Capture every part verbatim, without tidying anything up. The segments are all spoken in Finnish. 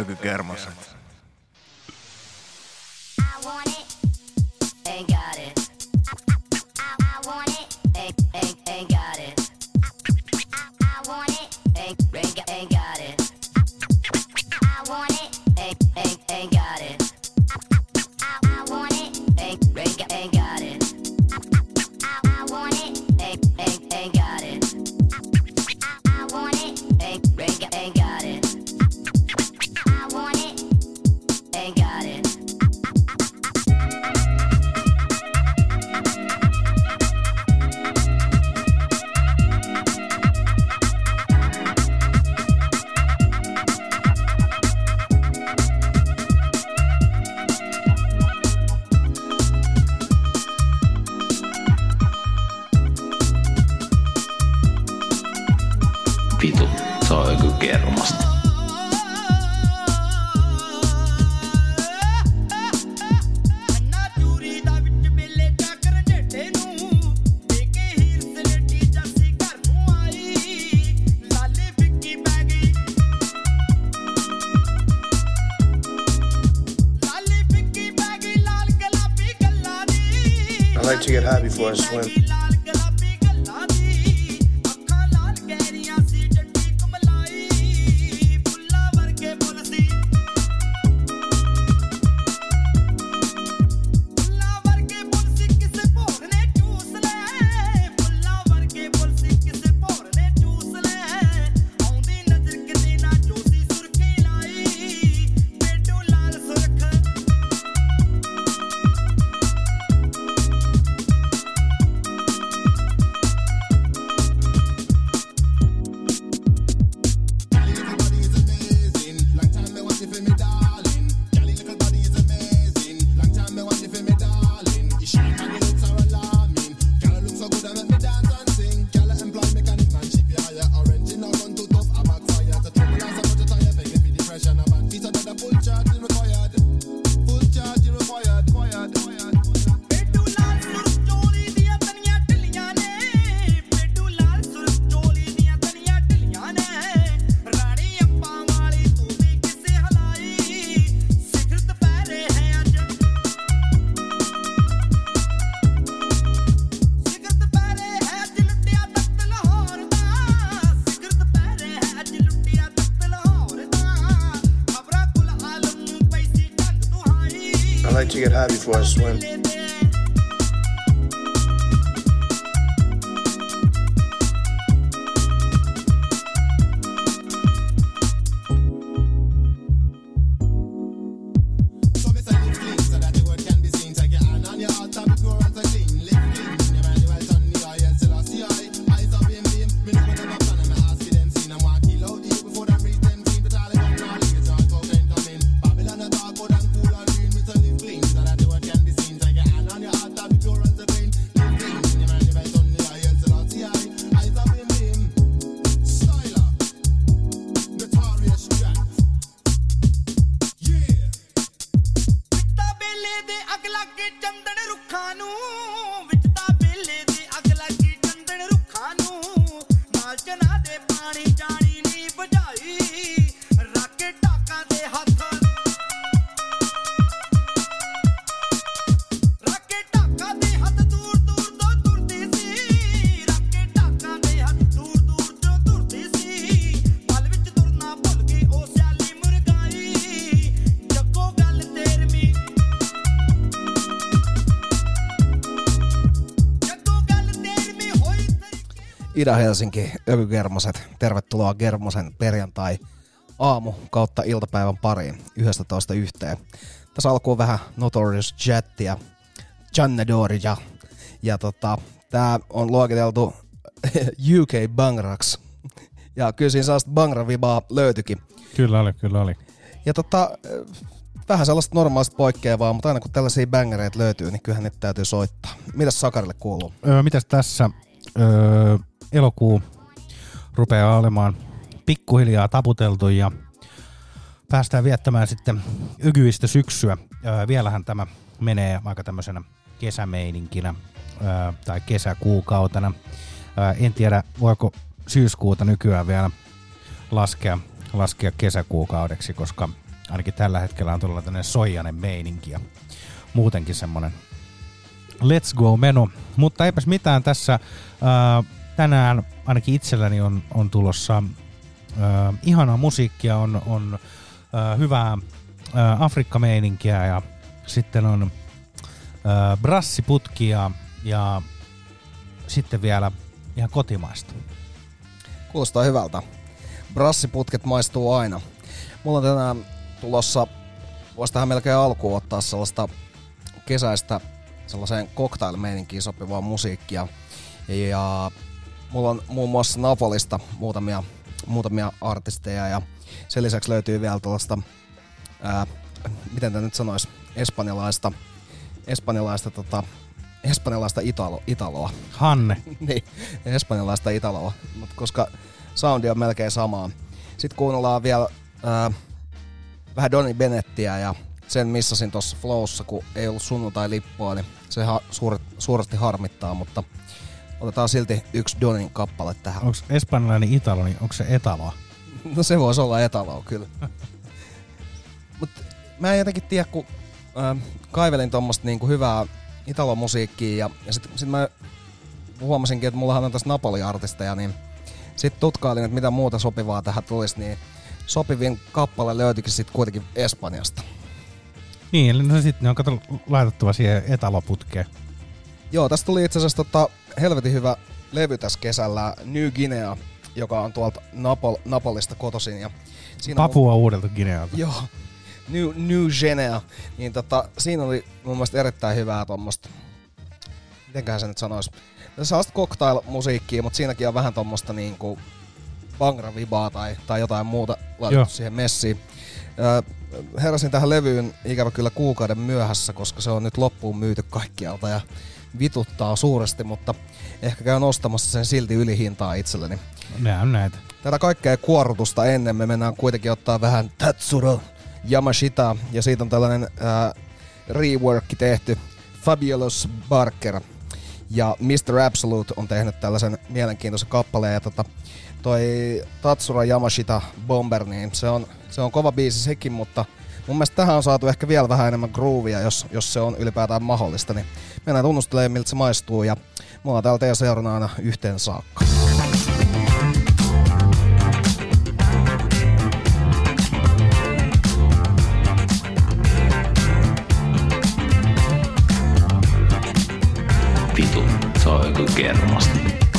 Ökykermaset. Vitu, se on joku kermasta. I like to get high before I swim. I like to get high before I swim. Ida-Helsinki, Ökykermaset, tervetuloa Kermosen perjantai aamu kautta iltapäivän pariin yhdestätoista yhteen. Tässä alkuun vähän Notorious Jattia, Jannedoria ja tota, tää on luokiteltu U K Bangrax ja kyllä siinä sellaista Bangra-vibaa löytyikin. Kyllä oli, kyllä oli. Ja tota, vähän sellaista normaalista poikkeavaa, mutta aina kun tällaisia bangereita löytyy, niin kyllähän niitä täytyy soittaa. Mitäs Sakarille kuuluu? Öö, mitäs tässä? Öö, elokuu rupeaa olemaan pikkuhiljaa taputeltu ja päästään viettämään sitten ykyistä syksyä. Öö, vielähän tämä menee aika tämmöisenä kesämeininkinä öö, tai kesäkuukautena. Öö, en tiedä, voiko syyskuuta nykyään vielä laskea, laskea kesäkuukaudeksi, koska ainakin tällä hetkellä on todella tämmöinen soijainen meininki ja muutenkin semmoinen let's go meno. Mutta eipäs mitään tässä. Äh, tänään ainakin itselläni on, on tulossa äh, ihanaa musiikkia, on, on äh, hyvää äh, Afrikka-meininkiä ja sitten on äh, brassiputkia ja sitten vielä ihan kotimaista. Kuulostaa hyvältä. Brassiputket maistuu aina. Mulla on tänään tulossa, voisi tähän melkein alkuun ottaa sellaista kesäistä sellaiseen cocktail-meininkiin sopivaa musiikkia. Ja mulla on muun muassa Napolista muutamia, muutamia artisteja ja sen lisäksi löytyy vielä tällaista, ää, miten tämä nyt sanoisi, espanjalaista, espanjalaista, tota, espanjalaista italo, italoa. Hanne. Niin, espanjalaista italoa, mutta koska soundi on melkein samaa. Sitten kuunnellaan vielä ää, vähän Donny Bennettiä ja sen missasin tuossa Flowssa, kun ei ollut sunnuntai-lippua, niin se ha- suur- suuresti harmittaa, mutta otetaan silti yksi Donin kappale tähän. Onko espanjalainen italo, niin onko se etaloa? No se voisi olla etaloa, kyllä. Mut mä en jotenkin tiedä, kun äh, kaivelin tommoista niinku hyvää italo-musiikkia ja, ja sit, sit mä huomasinkin, että mullahan on tässä Napoli-artisteja, niin sit tutkailin, että mitä muuta sopivaa tähän tulisi, niin sopivin kappale löytyikin sit kuitenkin Espanjasta. Niin, eli no sit ne on kato laitettava siihen etaloputkeen. Joo, tästä tuli itse asiassa tota helvetin hyvä levy tässä kesällä, New Guinea, joka on tuolta Napol- Napolista kotoisin. Ja siinä Papua on, uudelta Guinealta. Joo, New, New Guinea. Niin tota, siinä oli mun mielestä erittäin hyvää tommoista, mitenköhän se nyt sanois, sellaista cocktail-musiikkia, mutta siinäkin on vähän tommoista niinku bangra-vibaa tai, tai jotain muuta laitettu siihen messiin. Öö, heräsin tähän levyyn ikävä kyllä kuukauden myöhässä, koska se on nyt loppuun myyty kaikkialta ja vituttaa suuresti, mutta ehkä käyn ostamassa sen silti ylihintaa itselleni. Nää on näitä. Tätä kaikkea kuorrutusta ennen me mennään kuitenkin ottaa vähän Tatsuro Yamashita ja siitä on tällainen ää, reworkki tehty. Fabulous Barker ja mister Absolute on tehnyt tällaisen mielenkiintoisen kappaleen ja tota, toi Tatsuro Yamashita Bomber, niin se on, se on kova biisi sekin, mutta mun mielestä tähän on saatu ehkä vielä vähän enemmän groovia, jos, jos se on ylipäätään mahdollista, niin mennään tunnustelemaan miltä se maistuu ja me ollaan täällä teidän seurana aina yhteen saakka. Vitu, se on joku kermasta.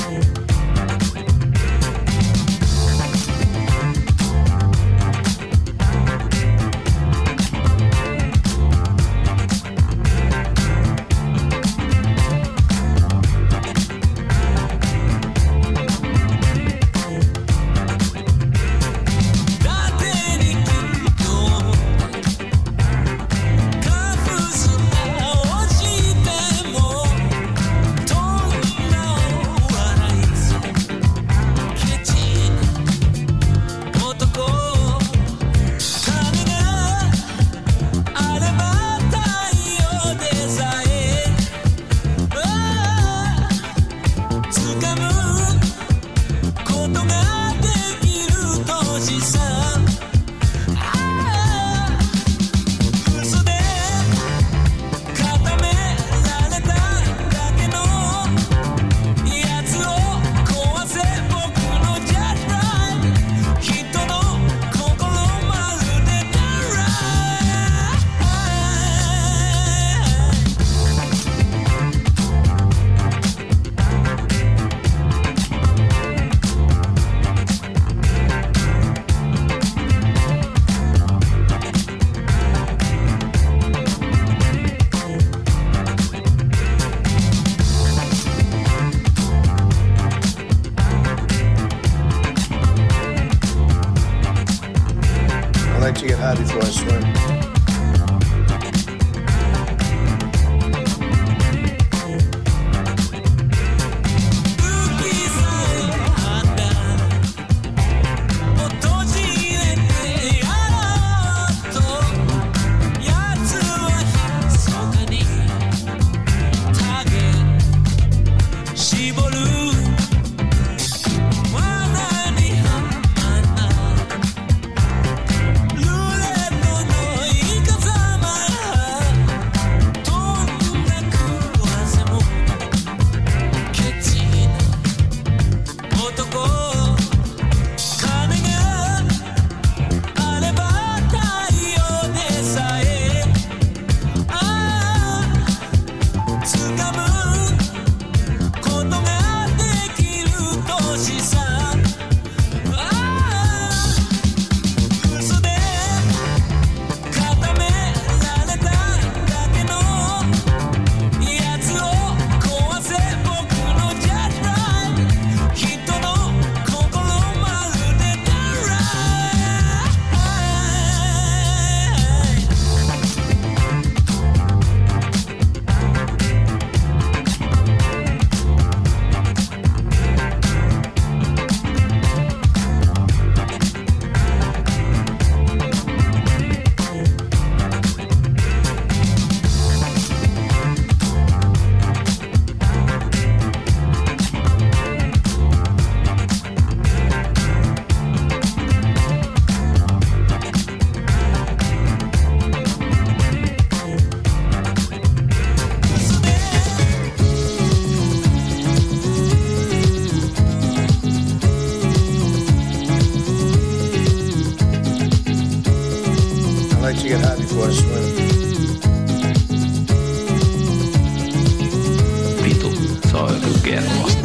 To get high before I swim. Lule no like to get high before I swim. Vitu, se on joku kermasta.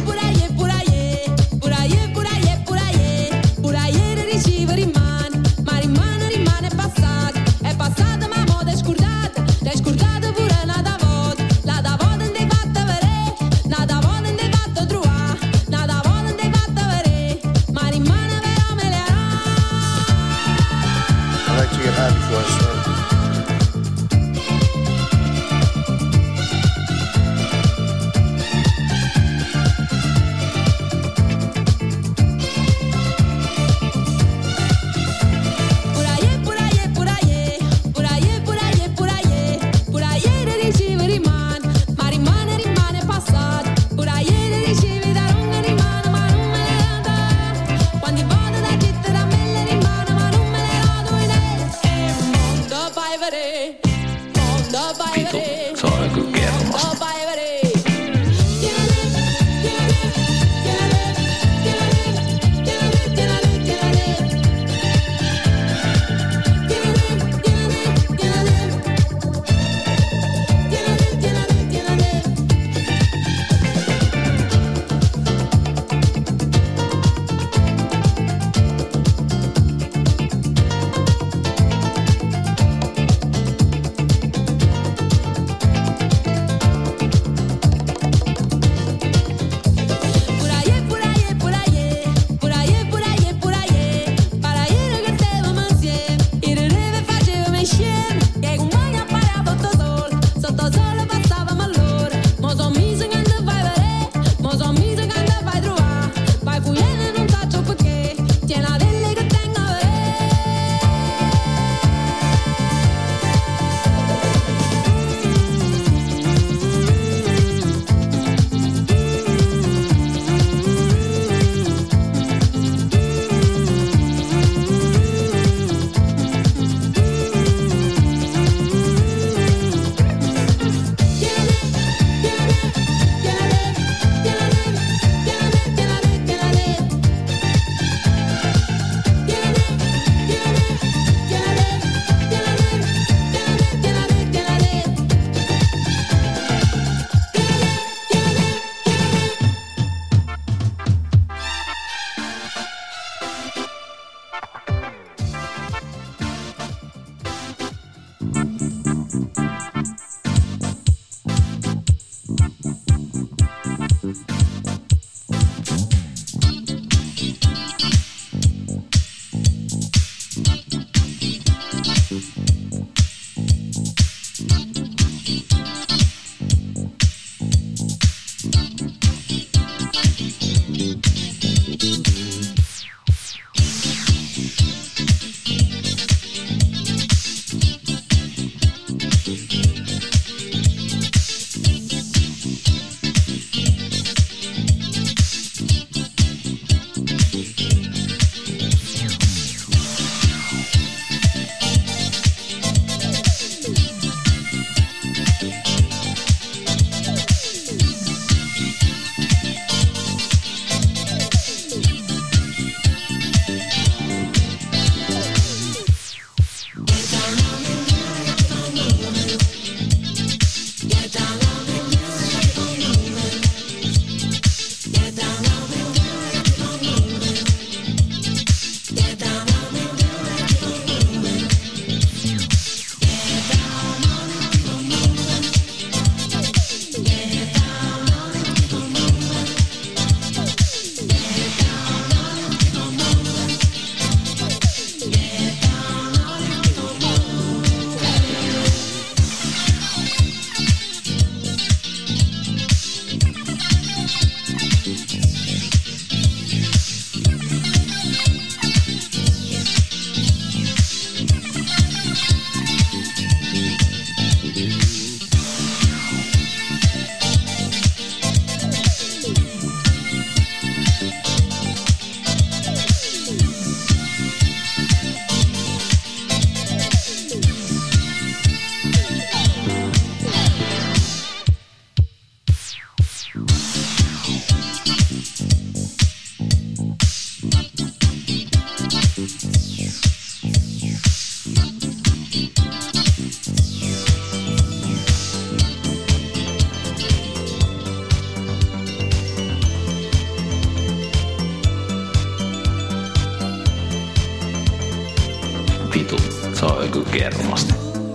Vitu, se on joku kermasta.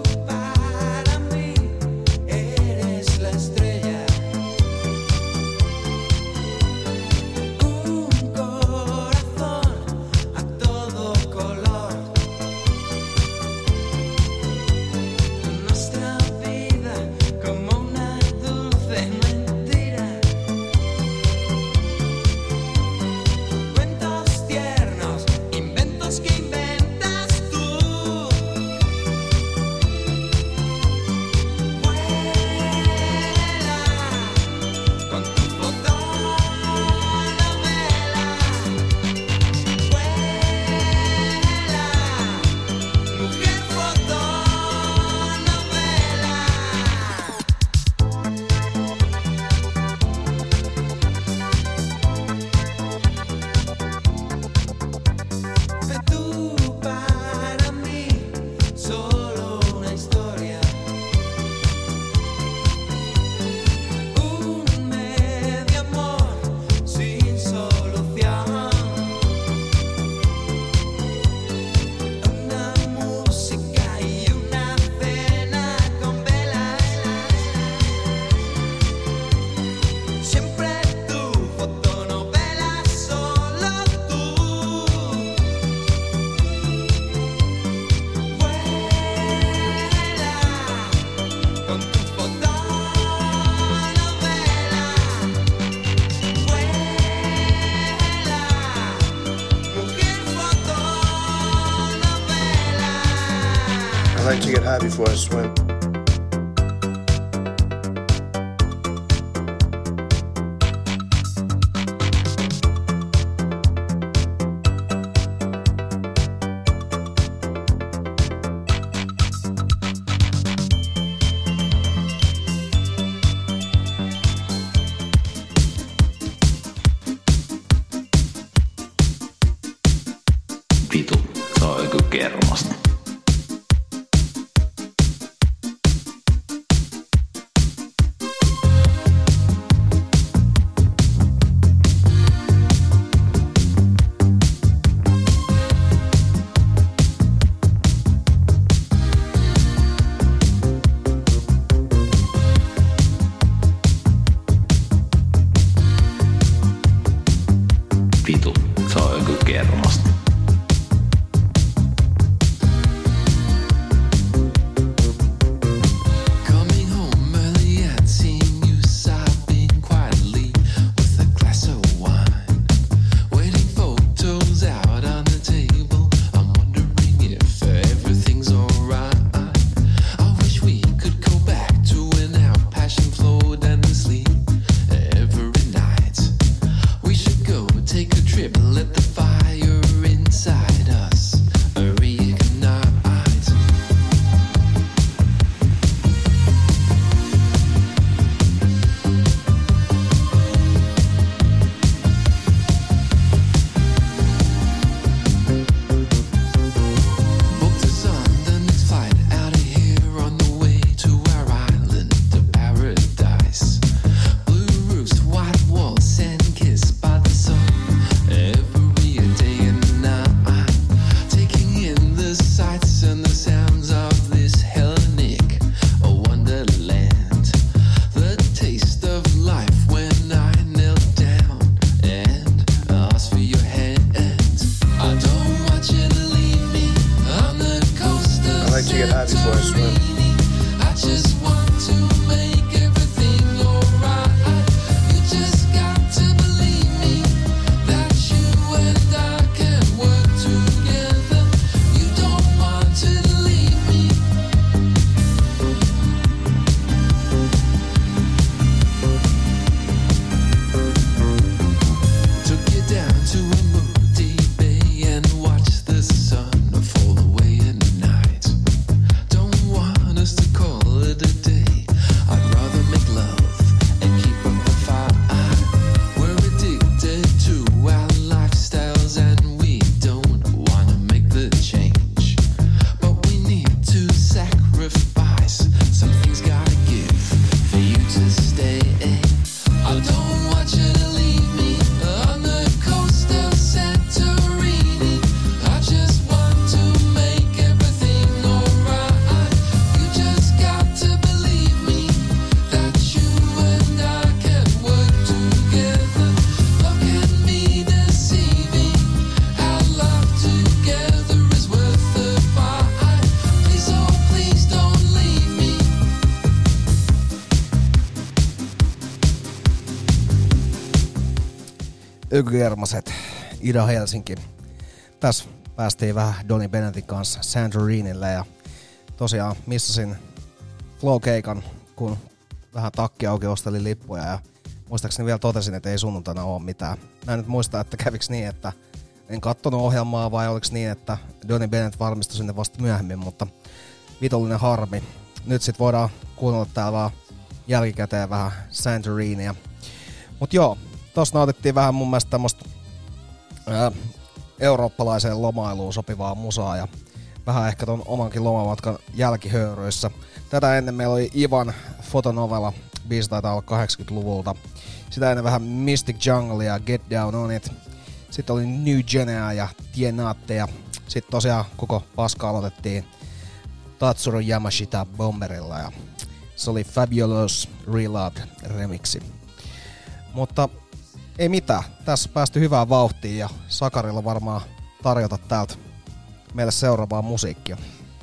I like to get high before I swim. Vitu, se on joku kermasta. Vitu, se on joku kermasta. Coming home early and seeing you sobbing quietly with a glass of wine. Waiting photos out on the table. I'm wondering if everything's alright. I wish we could go back to when our passion flowed endlessly every night. We should go take a trip and let the fire inside us reignite. Booked us on the next flight out of here on the way to our island of paradise. Blue roofs, white walls, and kissed by the sun every day and night. Taking in the sights and the sounds of this Hellenic wonderland. The taste of life when I knelt down and asked for your hand. I don't want you to leave me on the coast of I like to get high before I swim. Santorini. I just want to make everything alright. You just got to believe me that you and I can work together. You don't want to leave me. Took you down to a moody bay and watched the sun fall away in the night. Don't want us to call it Ökygermaset, Ida Helsinki. Tässä päästiin vähän Donny Bennettin kanssa Santorinille ja tosiaan missasin Flow-keikan, kun vähän takki auki ostelin lippuja ja muistaakseni vielä totesin, että ei sunnuntaina ole mitään. Mä en nyt muista, että käviks niin, että en kattonut ohjelmaa vai oliks niin, että Donny Bennett varmistui sinne vasta myöhemmin, mutta vitollinen harmi. Nyt sit voidaan kuunnella täällä vaan jälkikäteen vähän Santorinia. Mut joo, tossa nautittiin vähän mun mielestä tämmöstä ää, eurooppalaiseen lomailuun sopivaa musaa ja vähän ehkä ton omankin lomamatkan jälkihöyryissä. Tätä ennen meillä oli Ivan fotonovella, biisi taitaa olla kahdeksankymmentäluvulta. Sitä ennen vähän Mystic Jungle ja Get Down On It. Sitten oli New Genea ja Tienaatte ja sitten tosiaan koko paska aloitettiin Tatsuro Yamashita Bomberilla ja se oli Fabulous Reload remixi. Mutta ei mitään, tässä päästy hyvään vauhtiin ja Sakarilla varmaan tarjota täältä meille seuraavaa musiikkia.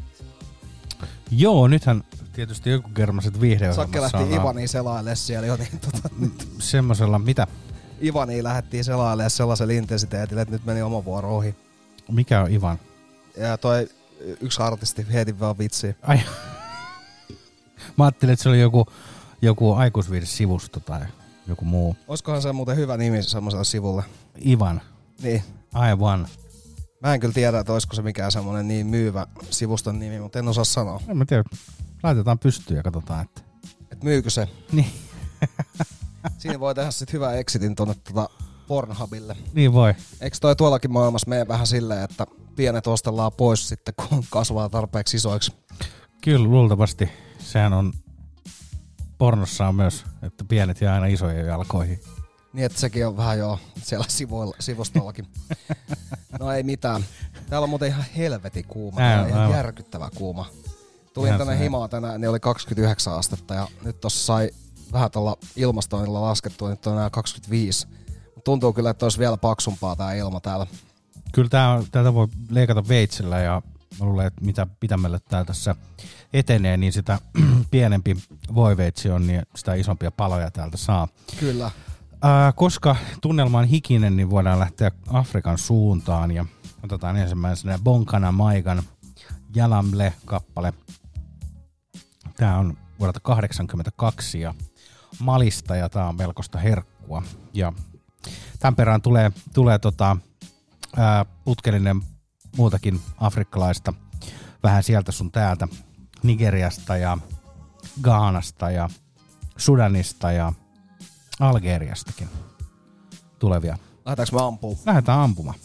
Joo, nythän tietysti joku kermaset viihdeohjelmassa. Sakke lähti Ivaniin selailemaan siellä jo niin tota... Semmosella, mitä? Ivaniin lähdettiin selailemaan sellaisella intensiteetillä, että nyt meni oma vuoro ohi. Mikä on Ivan? Ja toi yksi artisti heitin vaan vitsiä. Ai. Mä ajattelin, että se oli joku, joku aikuisviihde-sivusto tai joku muu. Oiskohan se muuten hyvä nimi semmoiselle sivulle? Ivan. Niin. Aivan. Mä en kyllä tiedä, että olisiko se mikään semmoinen niin myyvä sivuston nimi, mutta en osaa sanoa. En mä tiedä. Laitetaan pystyyn ja katsotaan, että... Et myykö se? Niin. Siinä voi tehdä sit hyvän exitin tonne tota Pornhubille. Niin voi. Eikö toi tuollakin maailmassa mene vähän silleen, että pienet ostellaan pois sitten, kun kasvaa tarpeeksi isoiksi? Kyllä, luultavasti. Sehän on... Pornossa on myös, että pienet jää aina isojen jalkoihin. Niin, että sekin on vähän jo siellä sivuilla, sivustollakin. No ei mitään. Täällä on muuten ihan helvetin kuuma. Ää, ihan aivan. Järkyttävä kuuma. Tulin ihan tänne himaan tänään, ne oli kaksikymmentäyhdeksän astetta ja nyt tossa sai vähän tuolla ilmastoinnilla laskettua, nyt on enää kaksikymmentäviisi. Tuntuu kyllä, että olisi vielä paksumpaa tää ilma täällä. Kyllä tää, tätä voi leikata veitsellä ja mä luulen, että mitä pitämällä tää tässä etenee, niin sitä pienempi voiveitsi on, niin sitä isompia paloja täältä saa. Kyllä. Äh, koska tunnelma on hikinen, niin voidaan lähteä Afrikan suuntaan ja otetaan ensimmäisenä Bonkana Maigan Jalamle-kappale. Tää on vuodelta kahdeksankymmentäkaksi ja Malista ja tää on melkoista herkkua. Ja tämän perään tulee, tulee tota, ää, putkellinen muutakin afrikkalaista, vähän sieltä sun täältä, Nigeriasta ja Ghanasta ja Sudanista ja Algeriastakin tulevia. Lähdetäänkö me ampumaan? Lähdetään ampumaan.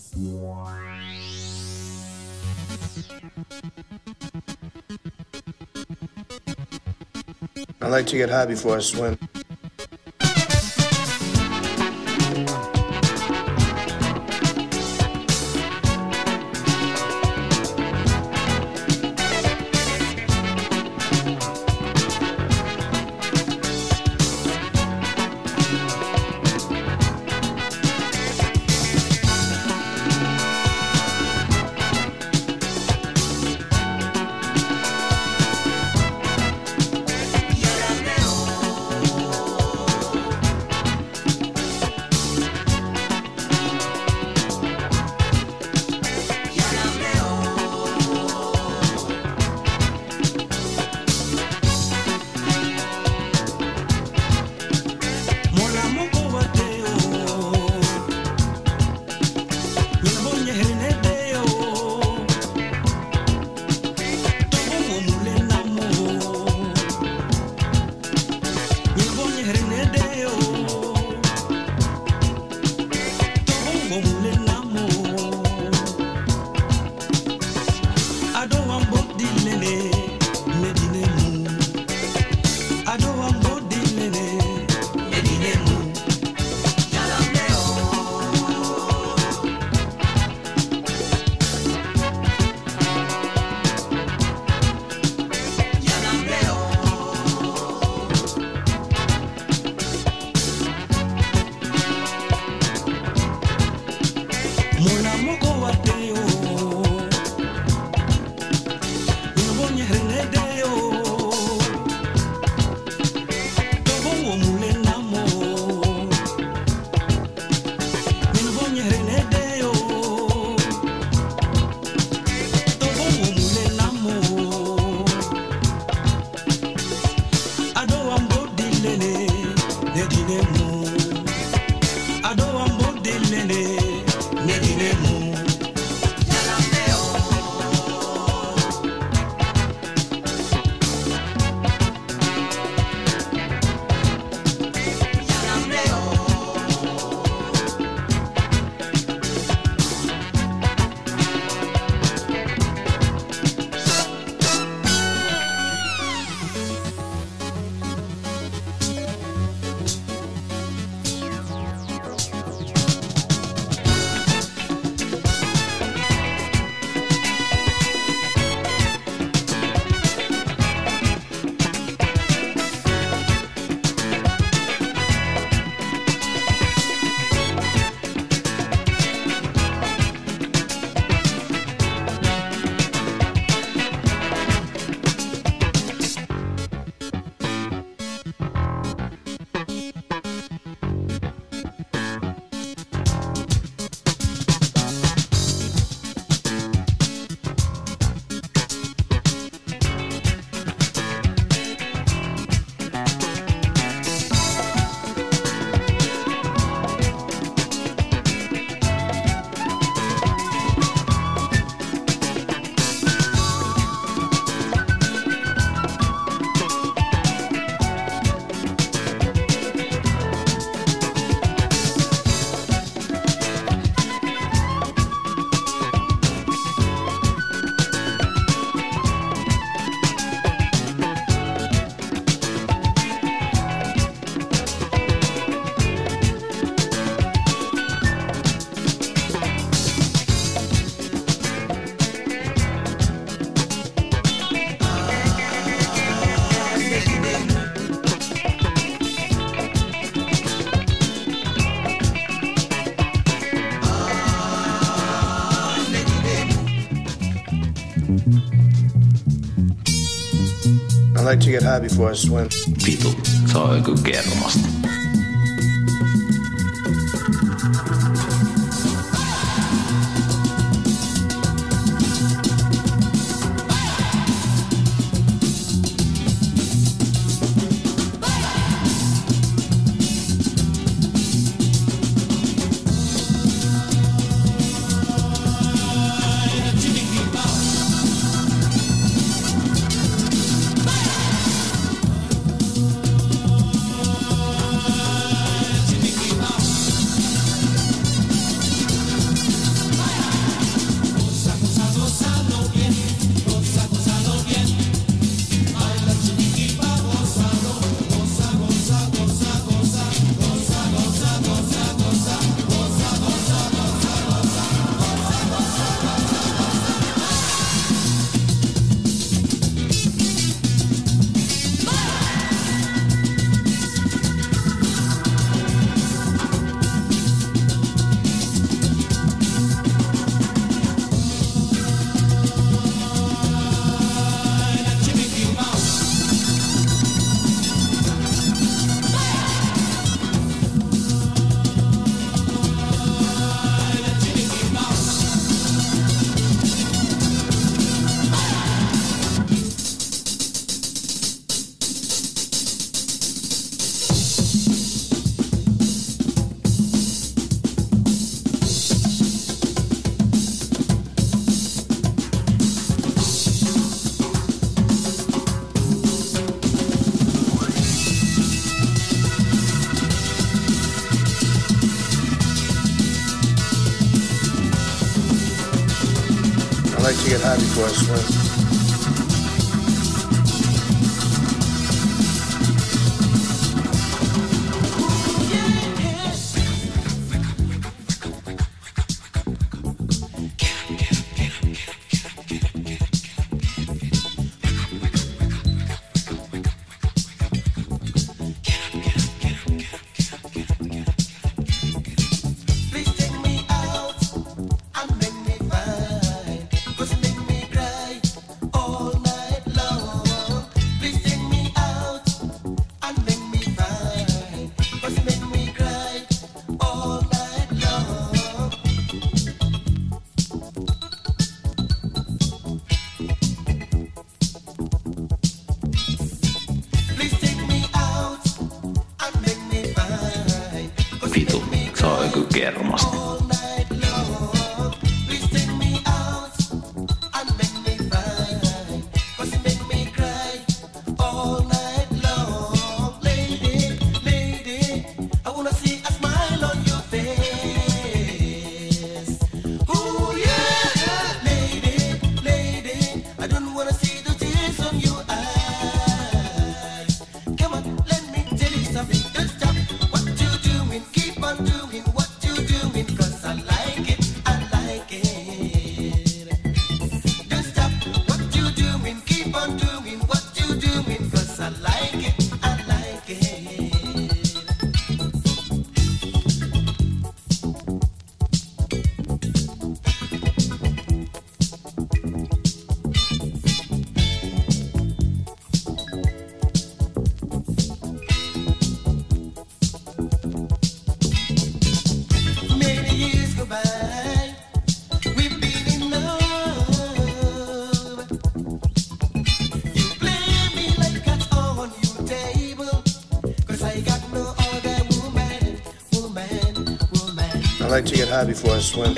I like to get high before I swim. Yo I like to get high before I swim. Vitu, se on joku kermasta. I like to get high before I swim. Vitu, se on joku kermasta. I like to get high before I swim.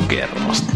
kuin kermasta.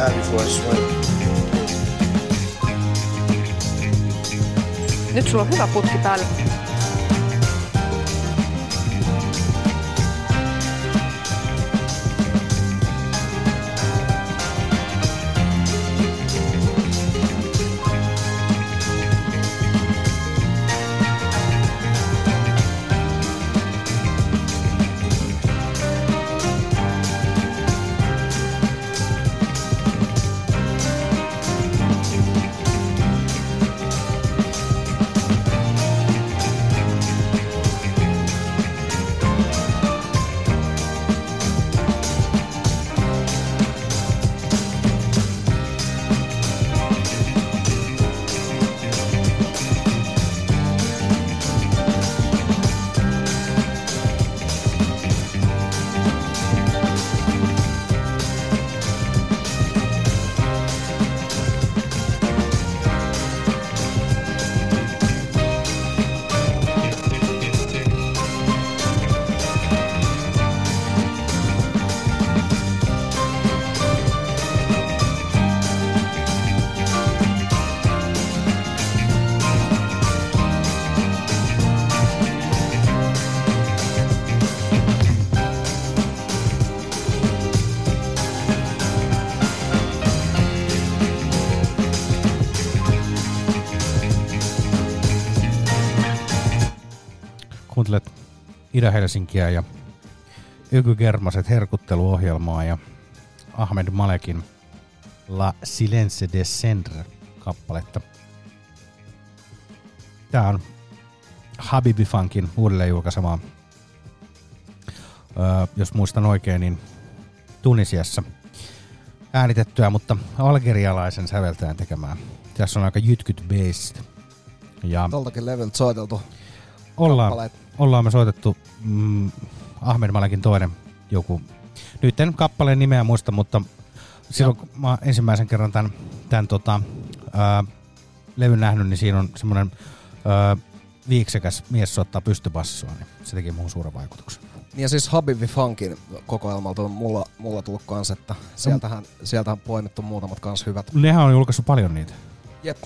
high before I swim. Nyt sulla on hyvä putki päällä. Kuuntelet Ida-Helsinkiä ja Yky Germaset herkutteluohjelmaa ja Ahmed Malekin La Silence Descendre kappaletta. Tää on Habibi Funkin uudelleen julkaisemaa, öö, jos muistan oikein, niin Tunisiassa äänitettyä, mutta algerialaisen säveltäjän tekemään. Tässä on aika jytkyt based. Ja Toltakin leveltä soiteltu. ollaan, ollaan me soitettu mm, Ahmed Malekin toinen joku. Nyt en kappaleen nimeä muista, mutta silloin kun mä ensimmäisen kerran tämän, tämän tota, ää, levyn nähnyt, niin siinä on semmoinen ää, viiksekäs mies soittaa pystybassoa, niin se teki muun suuren vaikutuksen. Ja siis Habibi Funkin kokoelmalta on mulla, mulla tullut kans, että sieltähän, sieltähän poimittu muutamat kans hyvät. Nehän on julkaissut paljon niitä. Jep.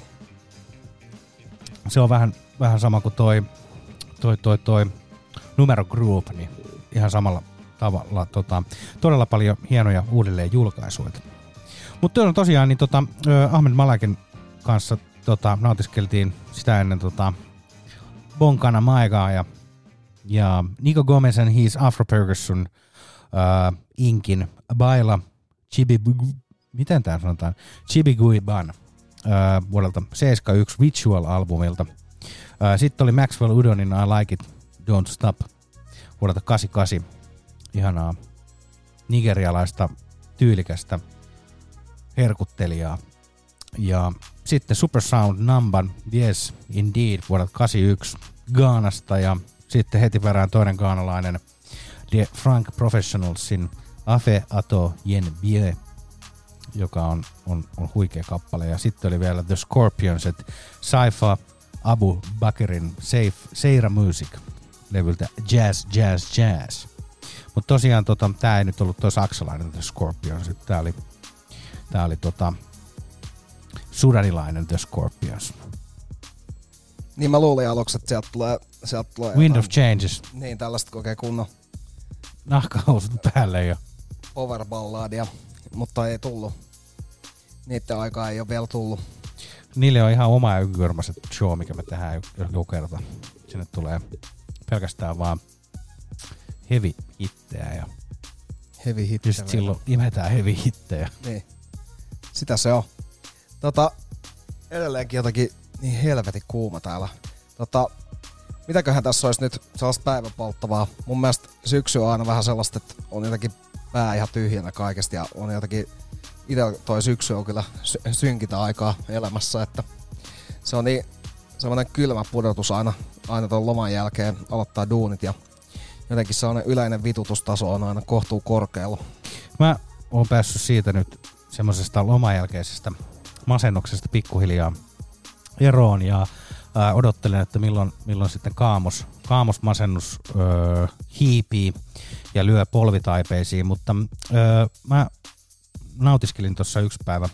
Se on vähän, vähän sama kuin toi, toi, toi, toi Numero Group, niin ihan samalla tavalla tota, todella paljon hienoja uudelleen julkaisuja. Mutta on tosiaan, niin tota, Ahmed Malekin kanssa tota, nautiskeltiin sitä ennen tota, Bonkana Maigaa ja, ja Nico Gomez and his Afro Percussion uh, Inkin Baila Chibi, miten tää sanotaan? Chibiguiban uh, vuodelta seitsemänkymmentäyksi Ritual-albumilta. Uh, Sitten oli Maxwell Udonin I Like It, Don't Stop vuodelta kahdeksankymmentäkahdeksan. Ihanaa nigerialaista tyylikästä herkuttelijaa. Ja sitten Supersound Namban Yes Indeed vuodelta kahdeksankymmentäyksi Ghanasta ja sitten heti perään toinen ghanalainen The Frank Professionalsin Afe Ato Yen Bie, joka on, on, on huikea kappale. Ja sitten oli vielä The Scorpions, että Saifa Abu Bakrin Safe, Seira Music levyltä Jazz, Jazz, Jazz. Mutta tosiaan tota, tää ei nyt ollut toi saksalainen The Scorpions, tää oli, tää oli tota, sudanilainen The Scorpions. Niin mä luulin aluksi, että sieltä tulee, sieltä tulee Wind jotain, of Changes. Niin, tällaista kokee kunnon Nahkahousut päälle jo. powerballadia, mutta ei tullut. Niiden aikaa ei ole vielä tullut. Niille on ihan oma ykykörmäiset show, mikä me tehdään joku kerta. Sinne tulee pelkästään vaan heavy hittejä ja Heavy hit. just silloin imetään heavy hittejä. Niin. Sitä se on. Tota, edelleenkin jotakin niin helvetin kuuma täällä. Tota, mitäköhän tässä olisi nyt sellaista päiväpolttavaa? Mun mielestä syksy on aina vähän sellaista, että on jotenkin pää ihan tyhjänä kaikesta ja on jotenkin itse toi syksy on kyllä sy- synkintä aikaa elämässä, että se on niin semmoinen kylmä pudotus aina, aina ton loman jälkeen aloittaa duunit ja jotenkin sellainen yleinen vitutustaso on aina kohtuu korkealla. Mä oon päässyt siitä nyt semmoisesta loman jälkeisestä masennuksesta pikkuhiljaa eroon ja ää, odottelen, että milloin, milloin sitten kaamos, kaamosmasennus öö, hiipii ja lyö polvitaipeisiin, mutta öö, mä nautiskelin tuossa yksi päivä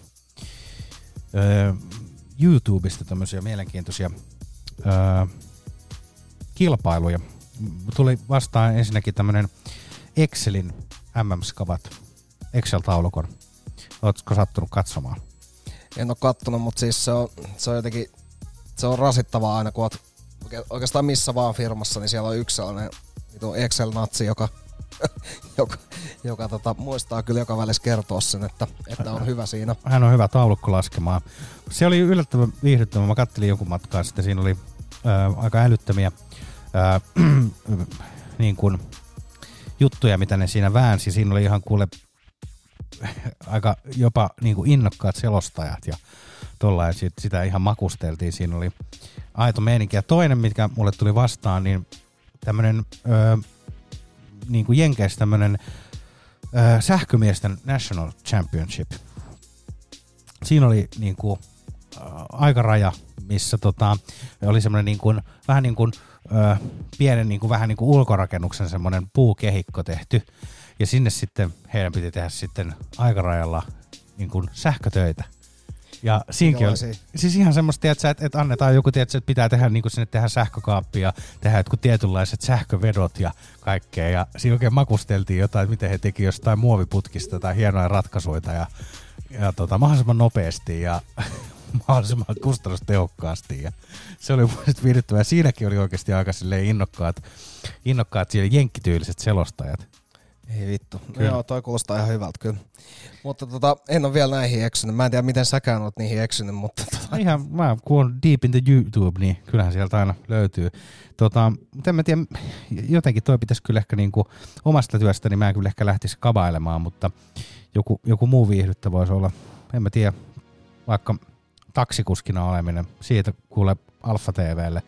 öö, YouTubesta tämmöisiä mielenkiintoisia öö, kilpailuja. Tuli vastaan ensinnäkin tämmönen Excelin M M-skavat, Excel-taulukon. Ootko sattunut katsomaan? En ole kattonut, mutta siis se on, se on jotenkin se on rasittavaa aina, kun oot oikeastaan missä vaan firmassa, niin siellä on yksi sellainen Excel-natsi, joka, joka, joka tota, muistaa kyllä joka välissä kertoa sen, että, että on hyvä siinä. Hän on hyvä taulukko laskemaan. Se oli yllättävän viihdyttävä. Mä kattelin jonkun matkaa sitten. Siinä oli ää, aika älyttömiä ää, niin kuin juttuja, mitä ne siinä väänsi. Siinä oli ihan kuule aika jopa niin kuin innokkaat selostajat ja tollain sitä ihan makusteltiin. Siinä oli aito meininki. Ja toinen, mitkä mulle tuli vastaan, niin tämmönen öö, niin kuin Jenkeissä tämmönen öö, sähkömiesten National Championship. Siinä oli niin kuin äh, aikaraja, missä tota, oli semmoinen niin kuin, vähän niin kuin äh, pienen niin kuin, vähän niin kuin ulkorakennuksen semmoinen puukehikko tehty. Ja sinne sitten heidän piti tehdä sitten aikarajalla niin kuin sähkötöitä. Ja siinäkin oli siis ihan semmoista, että, että annetaan joku, tiedätkö, että pitää tehdä niin kuin sinne tehdä sähkökaappia, tehdä jotkut tietynlaiset sähkövedot ja kaikkea. Ja siinä oikein makusteltiin jotain, että miten he teki jostain muoviputkista tai hienoja ratkaisuja ja, ja tota, mahdollisimman nopeasti ja mahdollisimman kustannustehokkaasti. Ja se oli muista viihdyttävää. Siinäkin oli oikeasti aika innokkaat, innokkaat jenkkityyliset selostajat. Ei vittu. No joo, toi kuulostaa ihan hyvältä kyllä. Mutta tota, en ole vielä näihin eksynyt. Mä en tiedä, miten säkään olet niihin eksynyt, mutta... Tota. Ihan, mä kun on deep in the YouTube, niin kyllähän sieltä aina löytyy. Tota, mutta en mä tiedä, jotenkin toi pitäisi kyllä ehkä niinku omasta työstä, niin mä en kyllä ehkä lähtisi kabailemaan, mutta joku, joku muu viihdyttä voisi olla, en mä tiedä, vaikka taksikuskina oleminen, siitä kuule Alfa T V:lle.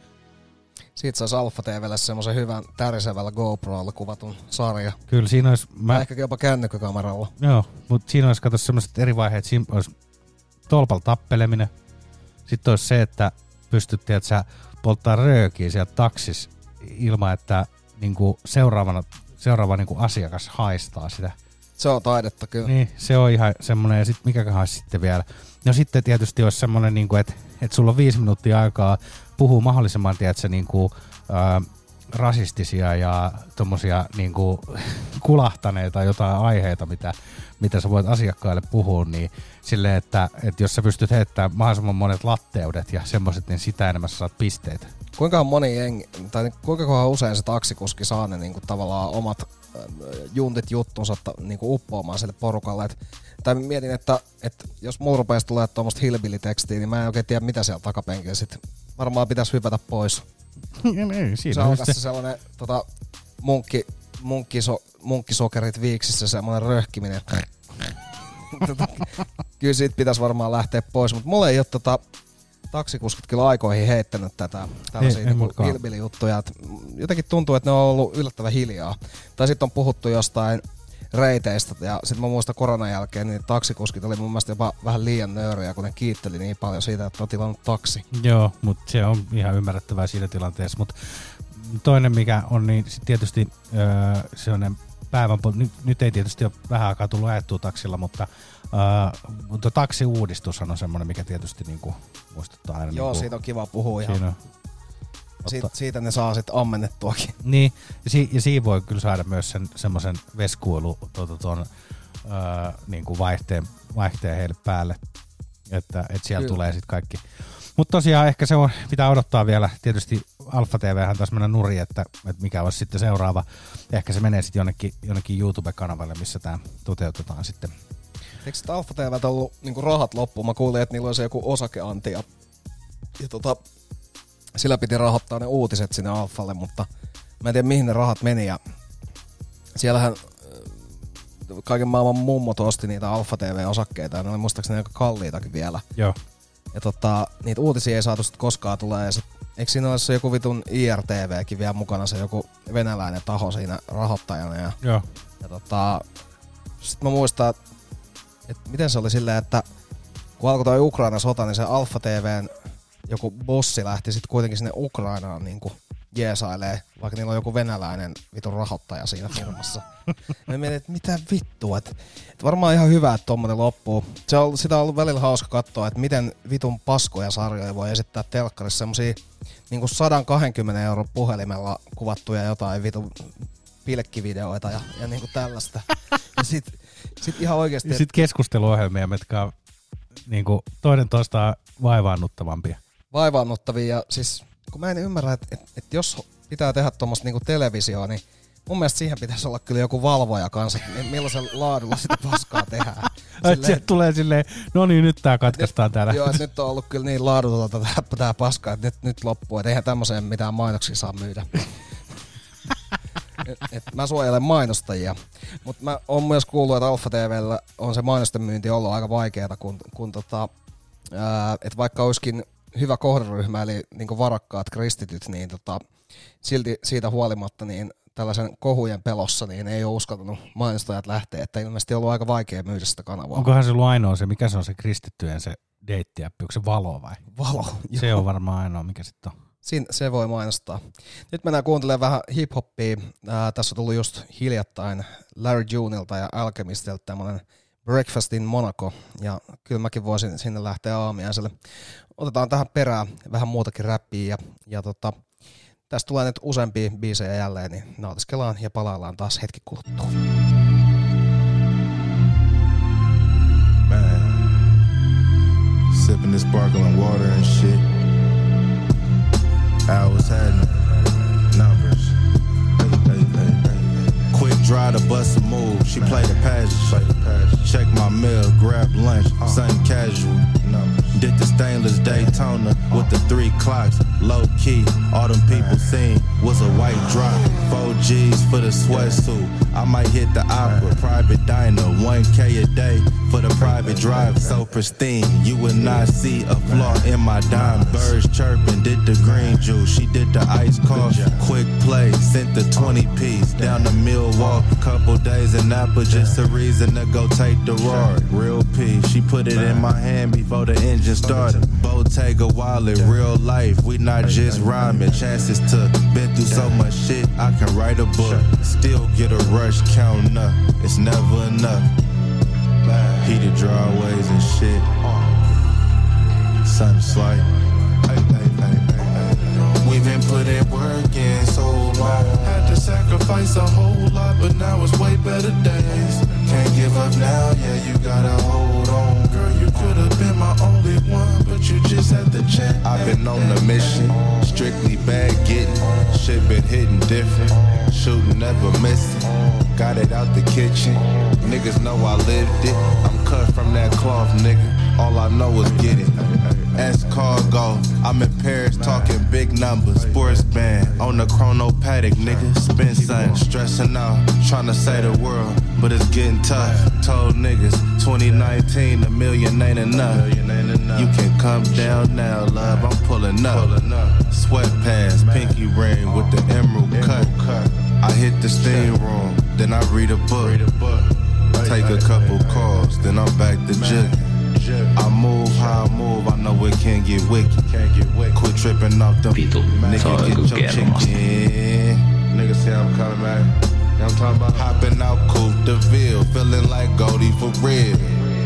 Siitä saisi Alfa T V:lle semmoisen hyvän tärisevällä GoProlla kuvatun sarja. Kyllä siinä olisi... Mä... Ehkä jopa kännykkäkameralla. Joo, mutta siinä olisi kato semmoiset eri vaiheet. Siinä olisi tolpalla tappeleminen. Sitten olisi se, että pystyttiin, että sä polttaa röökiä sieltä taksis ilman, että niinku seuraavana, seuraava niinku asiakas haistaa sitä. Se on taidetta kyllä. Niin, se on ihan semmoinen. Ja sitten mikäköhän olisi sitten vielä. No sitten tietysti olisi semmoinen, niinku, että et sulla on viisi minuuttia aikaa puhuu mahdollisimman, tiedätkö, niinku, ää, rasistisia ja tommosia niinku, kulahtaneita jotain aiheita, mitä, mitä sä voit asiakkaille puhua, niin silleen, että, että jos sä pystyt heittämään mahdollisimman monet latteudet ja semmoiset, niin sitä enemmän sä saat pisteitä. Kuinka moni jengi, tai kuinka usein se taksikuski saa ne niinku, tavallaan omat äh, juntit juttunsa niinku, uppoamaan sille porukalle, et, tai mietin, että, että jos mulla rupeaisi tulee tuommoista hillbilly-tekstiä, niin mä en oikein tiedä, mitä siellä takapenkillä sit varmaan pitäisi hypätä pois. Ei, siinä se alkaa se sellainen tota, munkki, munkkiso, munkkisokerit viiksissä, semmoinen röhkiminen. tota, kyllä siitä pitäisi varmaan lähteä pois, mutta mulla ei ole tota, taksikuskit kyllä aikoihin heittänyt tätä tällaisia niinku hillbilly-juttuja. Jotenkin tuntuu, että ne on ollut yllättävän hiljaa. Tai sitten on puhuttu jostain reiteistä, ja sitten mä muistan koronan jälkeen, niin taksikuskit oli mun mielestä jopa vähän liian nöyriä, kun ne kiitteli niin paljon siitä, että on tilannut taksi. Joo, mutta se on ihan ymmärrettävää siinä tilanteessa, mutta toinen mikä on, niin sit tietysti öö, sellainen päivän, nyt, nyt ei tietysti ole vähän aikaa tullut ajettua taksilla, mutta, öö, mutta taksiuudistushan on semmoinen, mikä tietysti niinku muistuttaa aina. Joo, niinku, siitä on kiva puhua ihan. Siinä on, Siit, siitä ne saa sitten ammennettuakin. Niin, ja, si, ja siinä voi kyllä saada myös sen semmoisen veskuilu tuota, tuon öö, niin kuin vaihteen, vaihteen heille päälle, että et siellä kyllä tulee sitten kaikki. Mutta tosiaan ehkä se on, pitää odottaa vielä, tietysti Alfa T V:hän taas mennä nurin, että, että mikä olisi sitten seuraava. Ehkä se menee sitten jonnekin, jonnekin YouTube-kanavalle, missä tämä toteutetaan sitten. Eikö sitten Alfa T V:ltä ollut niinku rahat loppuun? Mä kuulin, että niillä olisi joku osakeanti ja, ja tota... Sillä piti rahoittaa ne uutiset sinne Alfalle, mutta mä en tiedä mihin ne rahat meni. Ja siellähän kaiken maailman mummot osti niitä Alfa T V-osakkeita ja ne oli muistaakseni aika kalliitakin vielä. Joo. Ja tota, niitä uutisia ei saatu sit koskaan tulee. Ja sit, eikö siinä olisi joku vitun I R T V:kin vielä mukana, se joku venäläinen taho siinä rahoittajana. Ja, Joo. ja tota, sit mä muistan, että miten se oli silleen, että kun alkoi toi Ukraina-sota, niin se Alfa T V:n joku bossi lähti sitten kuitenkin sinne Ukrainaan niinku jeesailee, vaikka niillä on joku venäläinen vitun rahoittaja siinä firmassa. Mä mietin, että mitä vittua, että et varmaan ihan hyvä, että tommonen loppuu. Se on, sitä on ollut välillä hauska katsoa, että miten vitun paskoja sarjoja voi esittää telkkarissa, semmosia niinku sata kaksikymmentä euron puhelimella kuvattuja jotain vitun pilkkivideoita ja, ja niinku tällaista. Ja sit, sit ihan oikeesti... Ja sit keskusteluohjelmia, mitkä on niinku toinen toistaan vaivaannuttavampia. Vaivaannuttavia ja siis kun mä en ymmärrä, että et, et jos pitää tehdä tommoista niinku televisioa, niin mun mielestä siihen pitäisi olla kyllä joku valvoja kanssa, että millaisen laadulla sitä paskaa tehdään. Silleen, sieltä tulee silleen, no niin, nyt tää katkaistaan täällä. Joo, nyt on ollut kyllä niin laadutonta tää, tää paskaa, että nyt, nyt loppuu, että eihän tämmöiseen mitään mainoksia saa myydä. et, et mä suojelen mainostajia, mutta mä oon myös kuullut, että Alfa T V:llä on se mainosten myynti ollut aika vaikeaa, kun, kun tota, että vaikka olisikin hyvä kohderyhmä, eli niin varakkaat kristityt, niin tota, silti siitä huolimatta niin tällaisen kohujen pelossa niin ei ole uskaltanut mainostajat lähteä, että ilmeisesti on ollut aika vaikea myydä sitä kanavaa. Onkohan se ollut ainoa se, mikä se on se kristittyjen se deittiäppi, onko se Valo vai? Valo. Se joo. on varmaan ainoa, mikä sitten on. Siin, se voi mainostaa. Nyt mennään kuuntelemaan vähän hip-hoppia. Ää, tässä on tullut just hiljattain Larry Juneilta ja Alchemistilta tämmönen Breakfast in Monaco, ja kyllä mäkin voisin sinne lähteä aamiaiselle. Otetaan tähän perään vähän muutakin räppiä, ja, ja tota, tästä tulee nyt useampia biisejä jälleen, niin nautiskellaan ja palaillaan taas hetki kuluttua. Man, sipping this sparkling water and shit. Hours had numbers. Hey, hey, hey, hey. Quick draw to bust a move. She played the passage. Check my mail, grab lunch, something casual. Did the stainless Daytona with the three clocks. Low key, all them people seen was a white drop. Four G's for the sweatsuit. I might hit the opera, private diner, one K a day for the private drive. So pristine, you would not see a flaw in my diamond. Birds chirping, did the green juice. She did the ice coffee. Quick play, sent the twenty piece down to Milwaukee. Couple days in Napa, just a reason to go take the road. Real P, she put it in my hand before the engine started. Bottega wallet, real life, we not just rhyming. Chances to been through so much shit, I can write a book. Still get a rush counting up, it's never enough. Heated drawways and shit. Something slight. We've been putting work in so long. Had to sacrifice a whole lot, but now it's way better days. Can't give up now, yeah, you gotta hold on. Girl, you could've been my only one, but you just had to check. I've been on a mission, strictly bag getting. Shit been hitting different, shooting never missing. Got it out the kitchen, niggas know I lived it. I'm cut from that cloth, nigga, all I know is get it. Ask cargo, I'm in Paris talking big numbers. Sports band on the chrono paddock, nigga. Spin something, stressing out, trying to say the world, but it's getting tough. Told niggas twenty nineteen, a million ain't enough. You can come down now, love, I'm pulling up. Sweatpants, pinky ring with the emerald cut. I hit the steam room, then I read a book. Take a couple calls, then I'm back to jugging. I move how I move, I know it can't get wicked. Quit tripping off them. Vitu, se on joku kermasta. Niggas say I'm coming back. You know what I'm talking about? Hopping out Coupe de Ville, feeling like Goldie for real.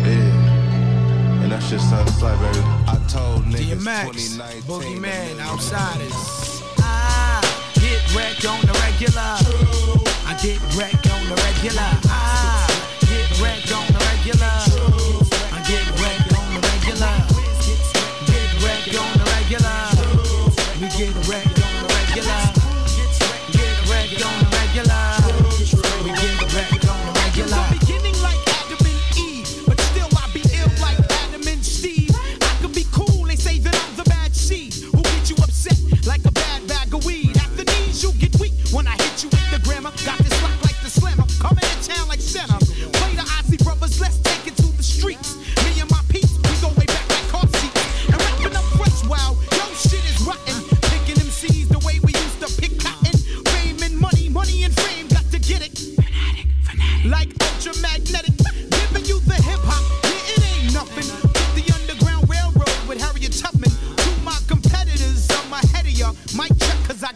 Yeah. And that's just something slight, baby. I told niggas twenty nineteen. Boogeyman, outsiders. I get wrecked on the regular. I get wrecked on the regular. I get wrecked on the regular. I get wrecked on the regular. Get wrecked on the regular. We get wrecked on the regular. Get wrecked on the regular. We get wrecked on the regular. Beginning like Adam and Eve, but still I be ill like Adam and Steve. I could be cool, they say that I'm the bad seed. Who get you upset like a bad bag of weed? At the knees you get weak when I hit you with the grammar. Got this lock like the slammer, coming to town like center. Play the Ozzy Brothers, let's take it to the streets. Me and my peeps, we go way back like car seats. And rapping up fresh, wow, yo shit is rotten. Picking M Cs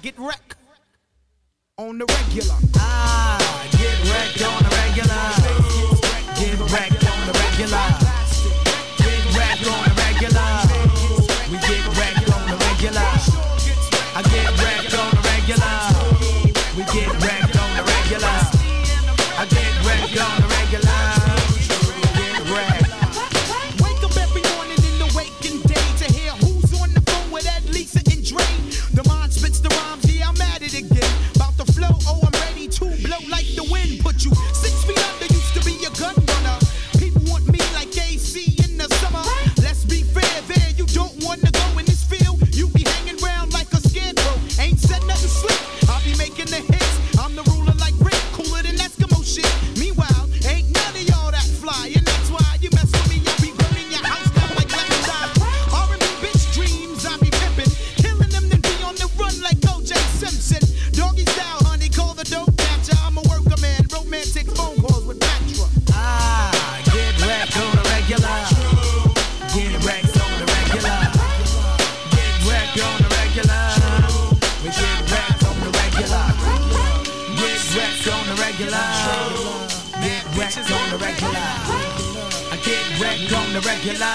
get wrecked on the regular. Ah, get wrecked on the regular. Get wrecked on the regular. Get wrecked on the regular. We get wrecked on the regular. I get wrecked on the regular. We get wrecked on the regular. I get wrecked on the regular. Get wrecked. Wake up every morning in the waking day to hear who's on the phone with Ed, Lisa, and Dre. The mind spits the rhymes, yeah, I'm at it again. About to flow, oh, I'm ready to blow like the wind. Put you six feet under, used to be a gun runner. People want me like A C in the summer. Let's be fair there, you don't want to go in this field. You be hanging around like a scarecrow. Ain't said nothing slick, I'll be making the hits. I'm the ruler like Rick, cooler than Eskimo shit. Meanwhile, ain't none of y'all that fly. And that's why you mess with me, I'll be burning your house down like lemon dye. R and B bitch dreams, I be pimping. Killing them, then be on the run like O J Simpson. Doggy style, honey, call the dope catcher. I'm a worker man, romantic phone calls with Patra. Ah, get wrecked on the regular. Get wrecked on the regular. Get wrecked on the regular. We get wrecked on the regular. Get wrecked on the regular. Get wrecked on the regular. I get wrecked on the regular.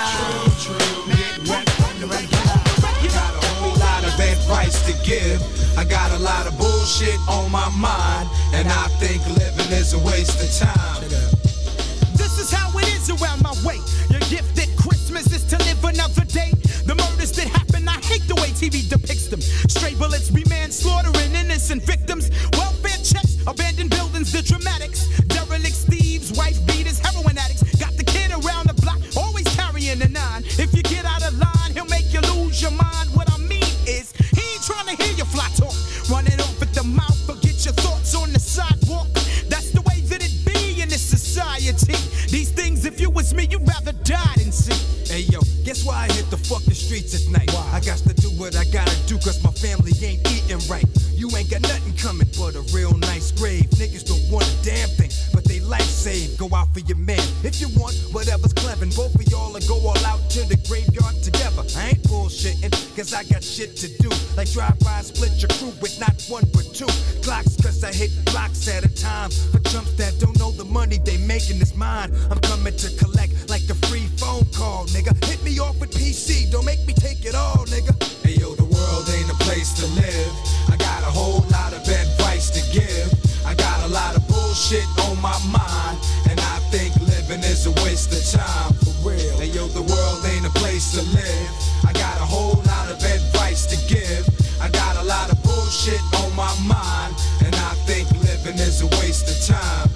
Get wrecked on the regular. Got a whole lot of advice to give. I got a lot of bullshit on my mind, and I think living is a waste of time. This is how it is around my way. Your gift at Christmas is to live another day. The murders that happen, I hate the way T V depicts them. Stray bullets be manslaughtering innocent victims. Welfare checks, abandoned buildings, the dramatics. Derelict thieves, wife beaters, heroin addicts. Got the kid around the block, always carrying a nine. If you get out of line, he'll make you lose your mind. What I mean is, he ain't trying to hear your fly talk. Running off at the mouth, forget your thoughts on the sidewalk. That's the way that it be in this society. These things, if you was me, you'd rather die than see. Hey yo, guess why I hit the fucking streets at night? Why? I got to do what I gotta do, cause my family ain't eating right. You ain't got nothing coming but a real nice grave. Niggas don't want a damn thing, but they life saved. Go out for your man. If you want whatever's clever, both of y'all will go all out to the graveyard together. I ain't bullshitting, cause I got shit to do. Like drive by and split your crew with not one but two Glocks, cause I hit blocks at a time. For chumps that don't know the money they making is mine. I'm coming to collect like a free phone call, nigga. Hit me off with P C, don't make me take it all, nigga. Hey yo, the world ain't a place to live. I got a whole lot of advice to give. I got a lot of bullshit on my mind, and I think living is a waste of time, for real. Hey yo, the world ain't a place to live. I got a whole lot of advice to give. I got a lot of bullshit on my mind, and I think living is a waste of time.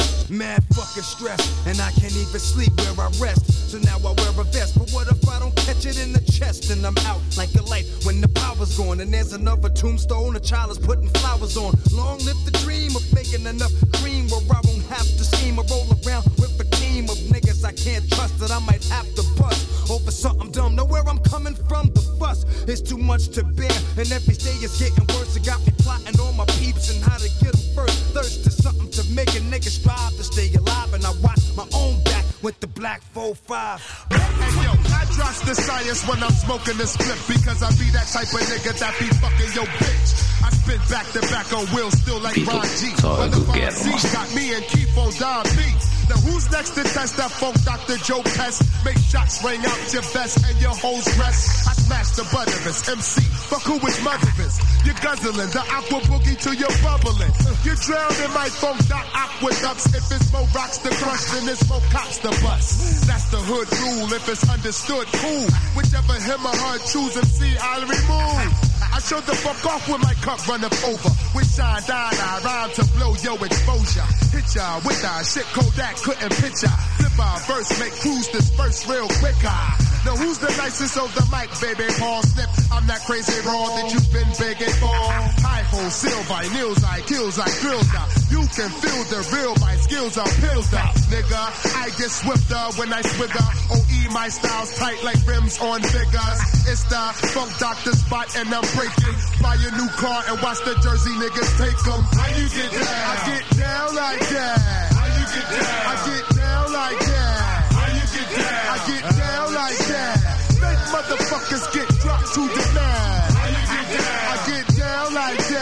Mad fucking stress, and I can't even sleep where I rest. So now I wear a vest, but what if I don't catch it in the chest? And I'm out like a light when the power's gone. And there's another tombstone, a child is putting flowers on. Long live the dream of making enough cream where I won't have to scheme or roll around with a team of niggas I can't trust that I might have to bust over something dumb. Know where I'm coming from, the fuss is too much to bear, and every day is getting worse. It got me plotting on my peeps and how to get them first. Thirst to something to make a nigga strive to stay alive, and I watch my own back with the black four five. Hey yo, I trust the science when I'm smoking this flip, because I be that type of nigga that be fucking your bitch. I spit back to back on wheels still like People Ron G. saw a good Motherfucker got me and Keith on Don beats. Now who's next to test that funk Doctor Joe Pest? Make shots, ring out your vest and your hoes rest. I smash the butterers, M C, fuck who is motherless. You're guzzling, the aqua boogie till you're bubbling. You drown in my funk dot aqueducts. If it's more rocks to crush, then it's more cops to bust. That's the hood rule, if it's understood, cool. Whichever him or her choose M C, I'll remove. I showed the fuck off when my cup run up over. With shine, dine, I rhyme to blow your exposure. Hit ya with our shit Kodak couldn't picture. Flip our verse, make crews disperse real quick. Now who's the nicest of the mic, baby? Paul Snip, I'm that crazy raw that you've been begging for. High hole, silver, nails, I kills, I grills out. You can feel the real, my skills are pills out. Nigga, I get swifter when I swigger. O E, my style's tight like rims on figures. It's the funk doctor spot and I'm breaking. Buy a new car and watch the Jersey niggas take them. How you get down? I get down like that. How you get down? I get down like that. How you get down? I get down like that. Make motherfuckers get dropped to the mat. How you get down? I get down like that.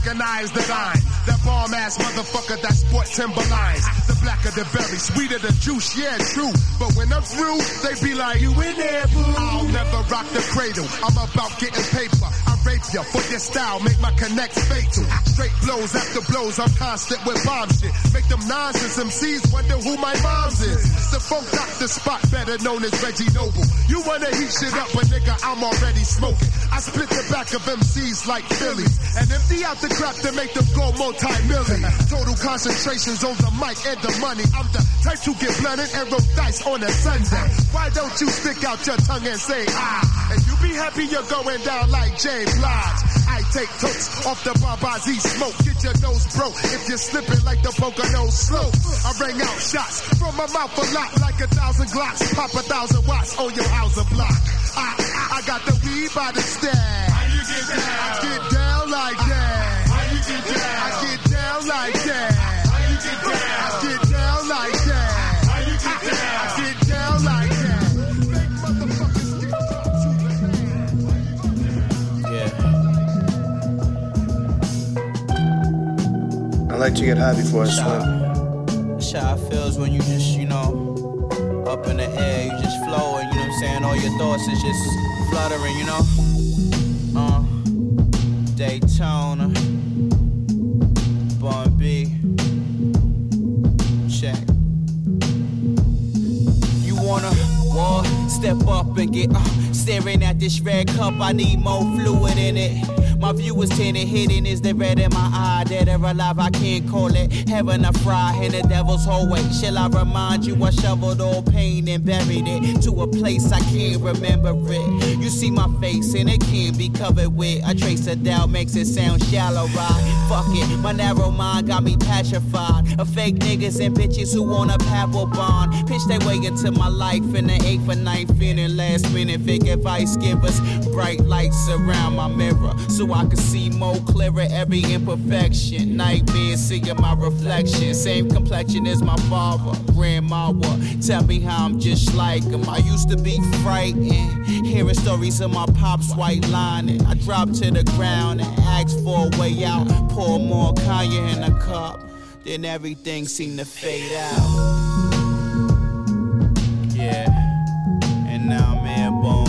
recognize that I'm that bomb ass motherfucker that sport Timberlines. The blacker the berry, sweeter the juice, yeah, true. But when I'm through, they be like, you in there, boo? I'll never rock the cradle. I'm about getting paper. I rape ya for your style, make my connects fatal. Straight blows after blows, I'm constant with bomb shit. Make them nonsense M Cs wonder who my mom's is. The funk doctor spot, better known as Reggie Noble. You wanna heat shit up, but nigga, I'm already smoking. I split the back of M Cs like Phillies and empty out the crap to make them go multi-million. Total concentrations on the mic and the money. I'm the type to get blunted and roll dice on a Sunday. Why don't you stick out your tongue and say ah? And you be happy you're going down like Jay Blige. I take totes off the Babazi smoke. Get your nose broke if you're slipping like the Pocono slope. I rang out shots from my mouth a lot like a thousand glocks. Pop a thousand watts on your house or block. I, I got the weed by the stash. How you get down? I get down like that. How you get down? I get down like that. How you get down? I get down like that. How you get down? I get down like that. Fake motherfuckers get to the I like to get high before I swim. That's how it feels when you just, you know, up in the air, you just flowing, you know what I'm saying? All your thoughts is just fluttering, you know? Uh, Daytona, Bun B, check. You wanna walk, step up and get, uh, staring at this red cup, I need more fluid in it. My view is tinted, hidden is the red in my eye. Dead or alive, I can't call it heaven or fry in the devil's hallway. Shall I remind you I shoveled all pain and buried it to a place I can't remember it. You see my face and it can't be covered with a trace of doubt, makes it sound shallow, right? Fuck it, my narrow mind got me petrified of fake niggas and bitches who want a pebble bond. Pitch their way into my life in the eighth or ninth inning. Last minute fake advice givers, bright lights around my mirror so I can see more clearer every imperfection. Nightmares seeing my reflection. Same complexion as my father, grandma would tell me how I'm just like him. I used to be frightened, hearing stories of my pop's white lining. I dropped to the ground and asked for a way out. Pour more Kanye in a cup, then everything seemed to fade out. Yeah, and now I'm airborne.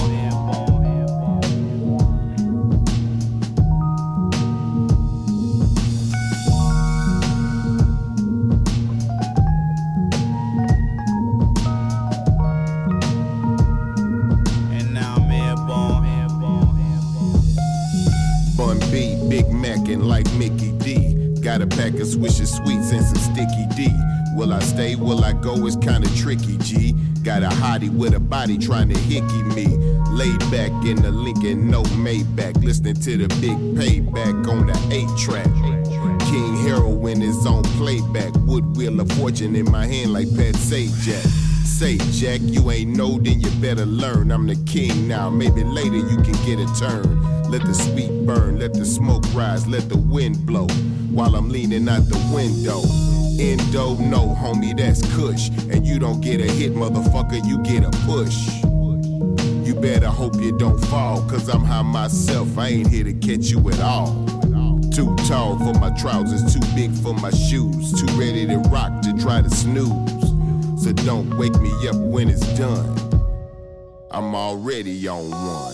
Big Mackin' like Mickey D. Got a pack of Swisher Sweets and some Sticky D. Will I stay, will I go, it's kinda tricky, G. Got a hottie with a body trying to hickey me. Laid back in the Lincoln, no Maybach. Listening to the big payback on the eight track. King Heroin is on playback. Wood Wheel of Fortune in my hand like Pat Sajak. Say, Jack, you ain't know, then you better learn. I'm the king now, maybe later you can get a turn. Let the sweet burn, let the smoke rise, let the wind blow while I'm leaning out the window. Endo, no, homie, that's Kush. And you don't get a hit, motherfucker, you get a push. You better hope you don't fall, cause I'm high myself, I ain't here to catch you at all. Too tall for my trousers, too big for my shoes, too ready to rock to try to snooze. So don't wake me up when it's done, I'm already on one.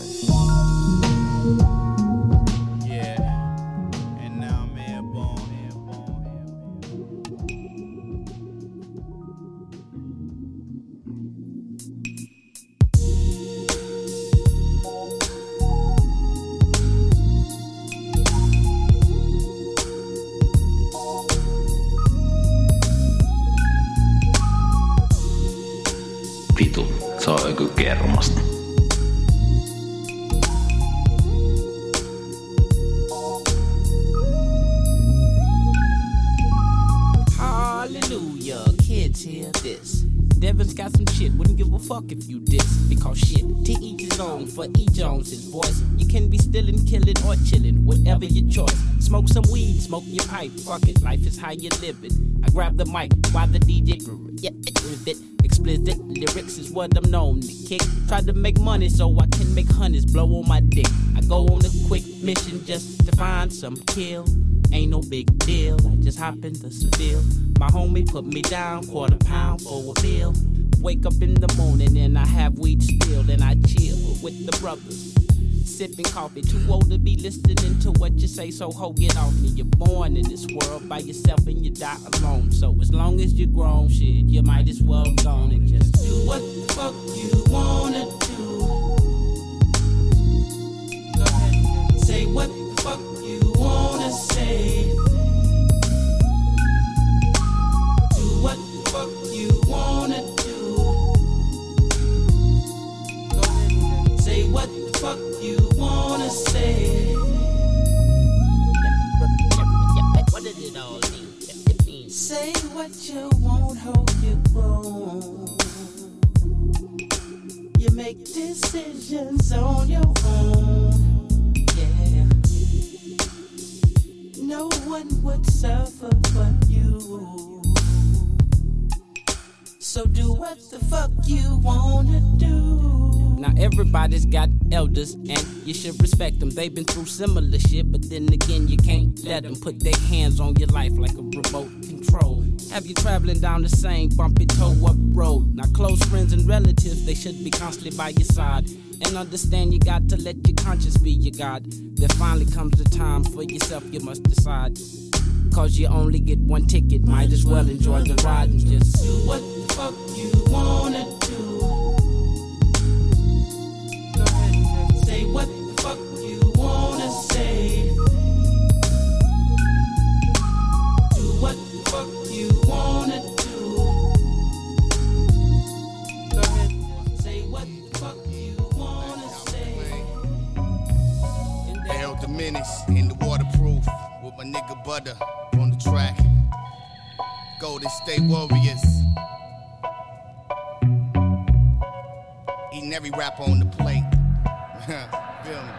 Vitu, se on joku kermasta. Hallelujah, kids hear this. Devin's got some shit, wouldn't give a fuck if you diss. Because shit, to each his own, for E. Jones's voice. You can be stillin', killin', or chillin', whatever your choice. Smoke some weed, smoke your pipe, fuck it, life is how you live it. I grab the mic while the D J, yeah, it, explicit lyrics is what I'm known to kick. Try to make money so I can make honeys blow on my dick. I go on a quick mission just to find some kill. Ain't no big deal, I just hop in the spill. My homie put me down, quarter pound for a bill. Wake up in the morning and I have weed still, and I chill with the brothers, sipping coffee. Too old to be listening to what you say, so ho, get off me. You're born in this world by yourself and you die alone. So as long as you're grown, shit, you might as well go on and just do what the fuck you wanna do. Go ahead and say what the fuck you wanna say. Do what the fuck you wanna do. Go ahead and say what the fuck you wanna say. What did it all mean? Say what you want, hope you grown. You make decisions on your own. Yeah. No one would suffer but you. So do what the fuck you wanna do. Now everybody's got elders and you should respect them. They've been through similar shit, but then again you can't let them put their hands on your life like a remote control. Have you traveling down the same bumpy toe up road? Now close friends and relatives, they should be constantly by your side. And understand you got to let your conscience be your God. There finally comes the time for yourself, you must decide. Cause you only get one ticket, might as well enjoy the ride and just do what the fuck you wanna do. Go ahead and just say what the fuck you wanna say. Do what the fuck you wanna do. Go ahead and just say what the fuck you wanna say. El Diminished in the waterproof with my nigga Butter on the track. Golden State Warriors. Eating every rapper on the plate. Feel me?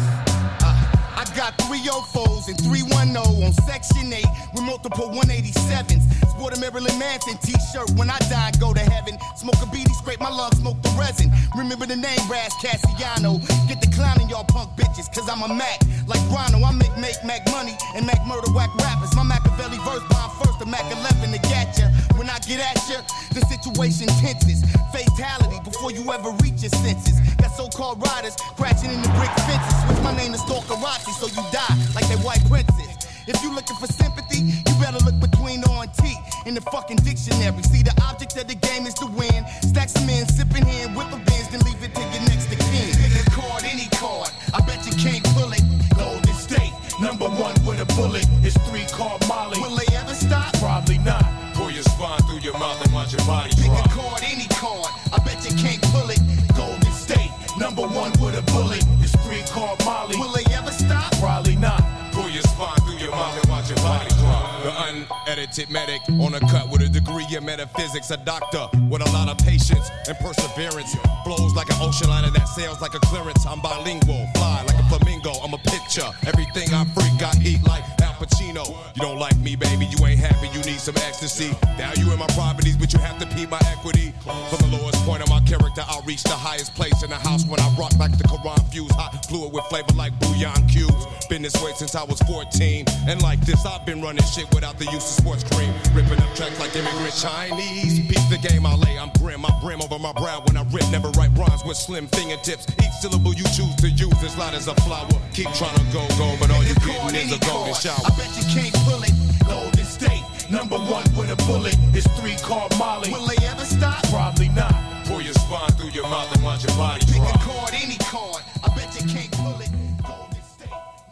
Uh, I got three oh fours and three ten on Section eight with multiple one eighty-sevens. Sport a Marilyn Manson t-shirt when I die and go to heaven. Smoke a beanie, scrape my lungs, smoke the resin. Remember the name Raz Cassiano. Get the clowning y'all punk bitches, cause I'm a Mac. Like Rhino, I make make Mac money and Mac murder whack rappers. My Machiavelli verse bomb first, the Mac eleven to get ya. When I get at ya, the situation tenses. Fatality before you ever reach your senses. Got so-called riders crashing in the brick fences. Switch my name to Stalkerati so you die like that white princess. If you looking for sympathy, you better look between O and T in the fucking dictionary. See, the object of the game is to win. Stack some in, sipping hand, whip a Benz, then leave it to your next of kin. Pick a card, any card, I bet you can't pull it. Golden State, number one with a bullet. It's three called Molly. Will they ever stop? Probably not. Pull your spine through your mouth and watch your body Pick drop. a card, any card, I bet you can't pull it. Golden State, number one with a bullet. It's three called Molly. Will they ever stop? Probably not. Pull your spine through your mouth and watch your body drop. The unedited medic on a cut with a degree in metaphysics. A doctor with a lot of patience and perseverance. Flows like an ocean liner that sails like a clearance. I'm bilingual, fly like a flamingo. I'm a picture. Everything I freak, I eat like Al Pacino. You don't like me, baby, you ain't happy, you need some ecstasy. Value in my properties, but you have to pee my equity. From the lowest point of my character, I'll reach the highest place in the house when I rock like the Quran fuse. Hot fluid with flavor like bouillon cubes. Been this way since I was fourteen. And like this, I've been running shit without the use of sports cream. Ripping up tracks like immigrant Chinese. Beat the game I lay, I'm grim. I brim over my brow when I rip. Never write rhymes with slim fingertips. Each syllable you choose to use is light as a flower. Keep trying to go, go, but all you getting is a golden shower. I bet you can't pull it. Golden State, number one with a bullet. It's three called Molly. Will they ever stop? Probably not. Pull your spine through your mouth and watch your body Pick drop. a card, any card, I bet you can't pull it. Golden State,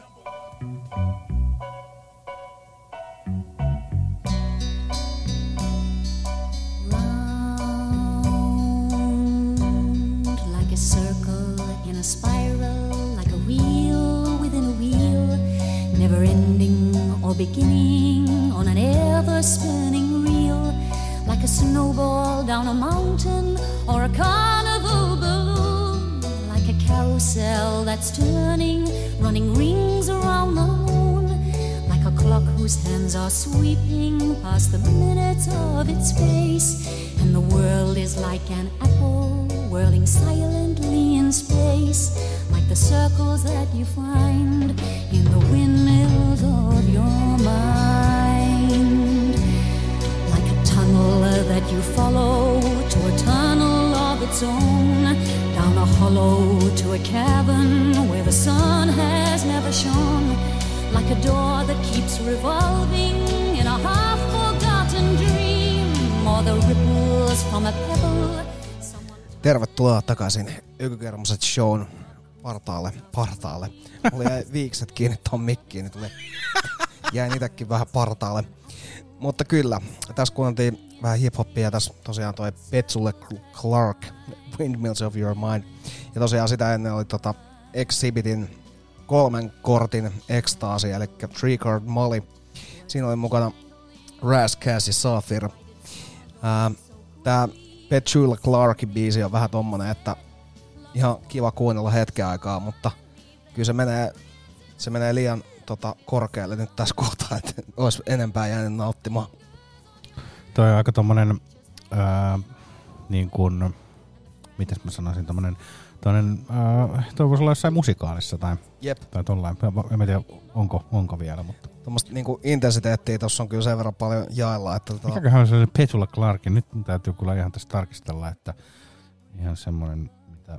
Round like a circle in a spiral, like a wheel within a wheel, never ending or beginning on an ever spinning reel, like a snowball down a mountain or a carnival balloon, like a carousel that's turning, running rings around the moon, like a clock whose hands are sweeping past the minutes of its face, and the world is like an apple whirling silently in space, like the circles that you find in the windmills of your mind. you follow to a tunnel of its own, down a hollow to a cavern where the sun has never shone, like a door that keeps revolving in a half-forgotten dream, or the ripples from a pebble. Tervetuloa takaisin Ökykermoset shown partaalle, partaalle. Mulla jäi viikset kiinni ton mikkiin, niin tuli, jäin itekin vähän partaalle. Mutta kyllä, tässä kuunneltiin vähän hip-hoppia, tässä tosiaan toi Petsulle Clark, Windmills of Your Mind. Ja tosiaan sitä ennen oli tota Exhibitin kolmen kortin ekstaasi, eli Three Card Molly. Siinä oli mukana Ras, Cass ja Saphir. Ää, tää Petsulle Clarkin biisi on vähän tommonen, että ihan kiva kuunnella hetken aikaa, mutta kyllä se menee, se menee liian tota, korkealle nyt tässä kohtaa, että olisi enempää jäänyt nauttimaan. Toi on aika tommonen, ää, niin kuin, mitäs mä sanoisin, tommonen, tommonen, ää, toi voisi olla jossain musikaalissa tai, Jep. tai tollain. En mä tiedä, onko, onko vielä, mutta. Tuommoista niinku intensiteettiä tossa on kyllä sen verran paljon jaella, että tota... Mikäköhän on se Petula Clarkin? Nyt täytyy kyllä ihan tässä tarkistella, että ihan semmonen, mitä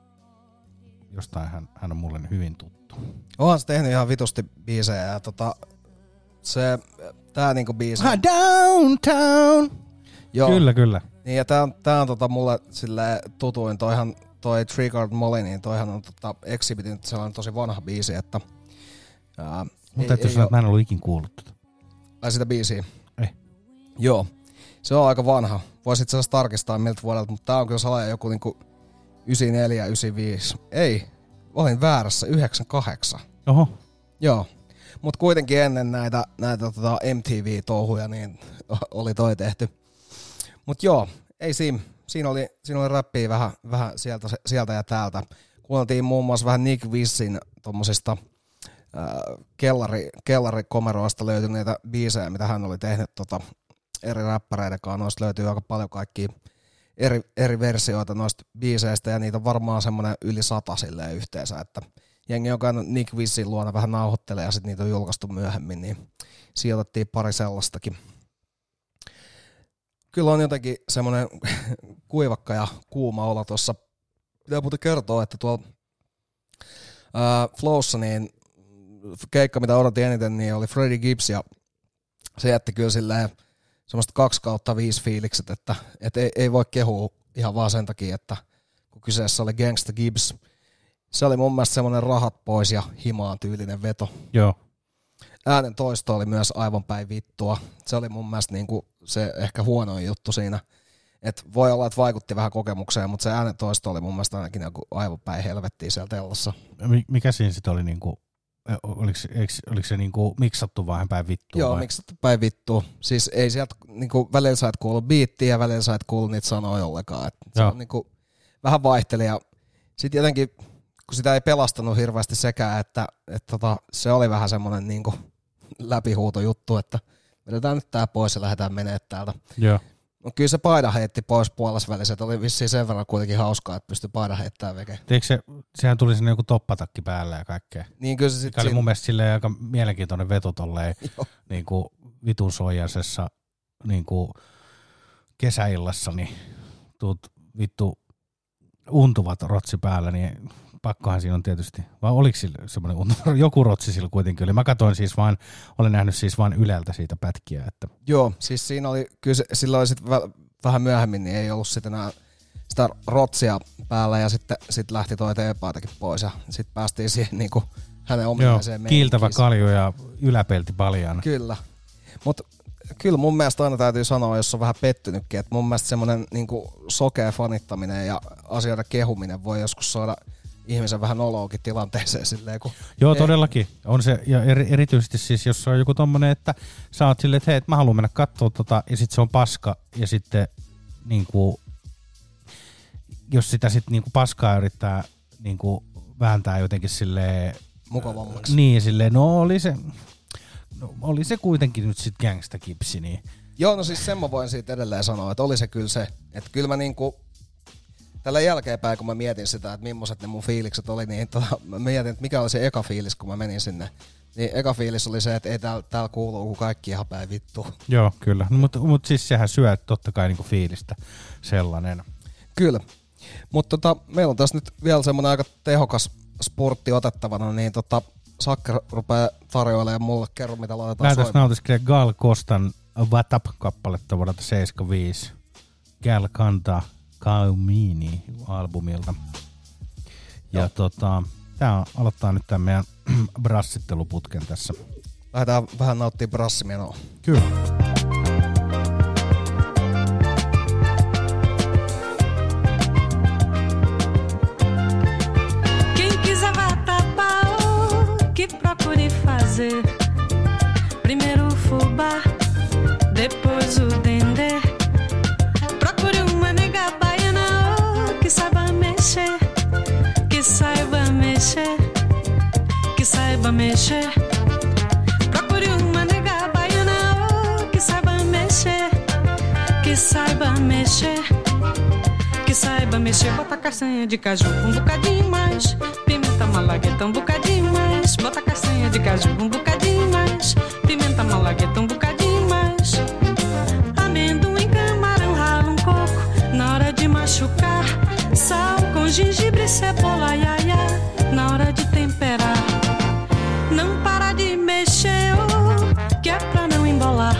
jostain hän, hän on mulle hyvin tuttu. Onhan se tehnyt ihan vitusti biisejä ja tota, se, tää niinku biisi... Ah, downtown! Joo. Kyllä, kyllä. Niin ja tää on, tää on tota mulle silleen tutuin, toihan toi Three Card Molly, niin toihan on tota Exhibitin sellainen tosi vanha biisi, että... Ää, Mun täytyy sanoa, että mä en ollut ikin kuullut tätä. Ai sitä biisiä? Ei. Joo. Se on aika vanha. Voisit itse asiassa tarkistaa miltä vuodelta, mutta tää on kyllä salaja joku niinku yhdeksänkymmentäneljä yhdeksänkymmentäviisi. Ei, olin väärässä, yhdeksänkymmentäkahdeksan. Oho. Joo. Mut kuitenkin ennen näitä, näitä tota M T V-touhuja niin oli toi tehty. Mut joo, ei siinä. Siinä oli, siinä oli räppiä vähän, vähän sieltä, sieltä ja täältä. Kuunneltiin muun muassa vähän Nick Wissin tommosista kellari, kellarikomeroista löytyneitä biisejä, mitä hän oli tehnyt tota, eri räppäreiden kanssa. Noista löytyy aika paljon kaikkia eri, eri versioita noista biiseistä, ja niitä on varmaan semmoinen yli sata silleen yhteensä, että jengi on käynyt Nick Wissin luona vähän nauhoittelee, ja sitten niitä on julkaistu myöhemmin, niin sijoitettiin pari sellaistakin. Kyllä on jotenkin semmoinen kuivakka ja kuuma olo tuossa. Pitää muuten kertoa, että tuolla ää, Flowssa niin keikka, mitä odotin eniten, niin oli Freddie Gibbs, ja se jätti kyllä silleen semmoista kaksi kautta viisi fiilikset, että et ei, ei voi kehua ihan vaan sen takia, että kun kyseessä oli Gangsta Gibbs, se oli mun mielestä semmoinen rahat pois ja himaan tyylinen veto. Joo. Äänen toisto oli myös aivan päin vittua. Se oli mun mielestä niinku se ehkä huonoin juttu siinä. Et voi olla, että vaikutti vähän kokemukseen, mutta se äänen toisto oli mun mielestä ainakin joku aivan päin helvettiä siellä tellossa. Mikä siinä sitten oli niinku... Oliko, eikö, oliko se niinku miksattu vaan päin vittua? Joo, vai? miksattu päin vittua. Siis ei sieltä, niinku, välillä sä et kuulu biittiä ja välillä sä et kuulu niitä sanoja ollenkaan. Et se on niinku, vähän vaihteli ja sit jotenkin, kun sitä ei pelastanut hirveästi sekään, että et tota, se oli vähän semmonen niinku läpihuutojuttu, että vedetään nyt tää pois ja lähdetään menee täältä. Joo. No kyllä se paida heitti pois puolesvälissä, että oli vissiin sen verran kuitenkin hauskaa, että pystyi paida heittämään veke. Eikö se, sehän tuli sinne joku toppatakki päälle ja kaikkea. Niin kyllä se sit oli siinä... mun mielestä silleen aika mielenkiintoinen veto tolleen niin kuin vitun soijasessa niin kuin kesäillassa, niin tuut vittu untuvat rotsi päällä, niin pakkohan siinä on tietysti, vai oliko sillä semmoinen untuva, joku rotsi sillä kuitenkin oli. Mä katsoin siis vaan, olen nähnyt siis vaan Yleltä siitä pätkiä. Että. Joo, siis siinä oli, kyllä se, sillä oli sitten väl, vähän myöhemmin, niin ei ollut sitten enää sitä rotsia päällä ja sitten sit lähti toi teepaitakin pois ja sitten päästiin siihen niin kuin hänen ominaiseen meininkiin. Kiiltävä kalju ja yläpelti paljaana. Kyllä, mutta kyllä mun mielestä aina täytyy sanoa, jos on vähän pettynytkin, että mun mielestä semmoinen niin kuin sokea fanittaminen ja asioiden kehuminen voi joskus saada ihmisen vähän noloakin tilanteeseen silleen, kun... Joo, todellakin. On se, ja eri, erityisesti siis, jos on joku tommonen, että sä oot silleen, että hei, mä haluan mennä kattoo tota, ja sit se on paska, ja sitten niinku, jos sitä sit niinku paskaa yrittää niinku vääntää jotenkin silleen... Mukavammaksi. Niin, silleen, no oli se, no oli se kuitenkin nyt sit Gangsta Gibbs, niin... Joo, no siis sen mä voin siitä edelleen sanoa, että oli se kyllä se, että kyllä mä niinku... tällä jälkeenpäin, kun mä mietin sitä, että millaiset ne mun fiilikset oli, niin tota, mä mietin, että mikä oli se eka fiilis, kun mä menin sinne. Niin eka fiilis oli se, että ei täällä, täällä kuuluu, kun kaikki ihan päin vittu. Joo, kyllä. No, mutta mut siis sehän syö totta kai niinku fiilistä sellainen. Kyllä. Mutta tota, meillä on tässä nyt vielä semmoinen aika tehokas sportti otettavana, niin tota, Sakke rupeaa tarjoilemaan mulle. Kerro, mitä laitetaan Lähdetään soimaan. nautiskelemaan Gal Costan What Up-kappaletta vuodelta seitsemänkymmentäviisi. Gal Canta Caumini albumilta. Ja Joo. tota, tää on, aloittaa nyt tämän meidän brassitteluputken tässä. Lähdetään vähän nauttia brassimenoa. Kyllä. Quem quiser vai tapar o que procure fazer. Primeiro o fubá, depois o dendê. Procure uma nega baiana oh, que saiba mexer, que saiba mexer, que saiba mexer. Procure uma nega baiana oh, que saiba mexer, que saiba mexer. Que saiba mexer, bota castanha de caju um bocadinho mais, pimenta malagueta um bocadinho mais, bota castanha de caju um bocadinho mais, pimenta malagueta um bocadinho mais, amendoim, camarão, rala um coco na hora de machucar, sal com gengibre, cebola, iaia, na hora de temperar. Não para de mexer, oh, que é pra não embolar.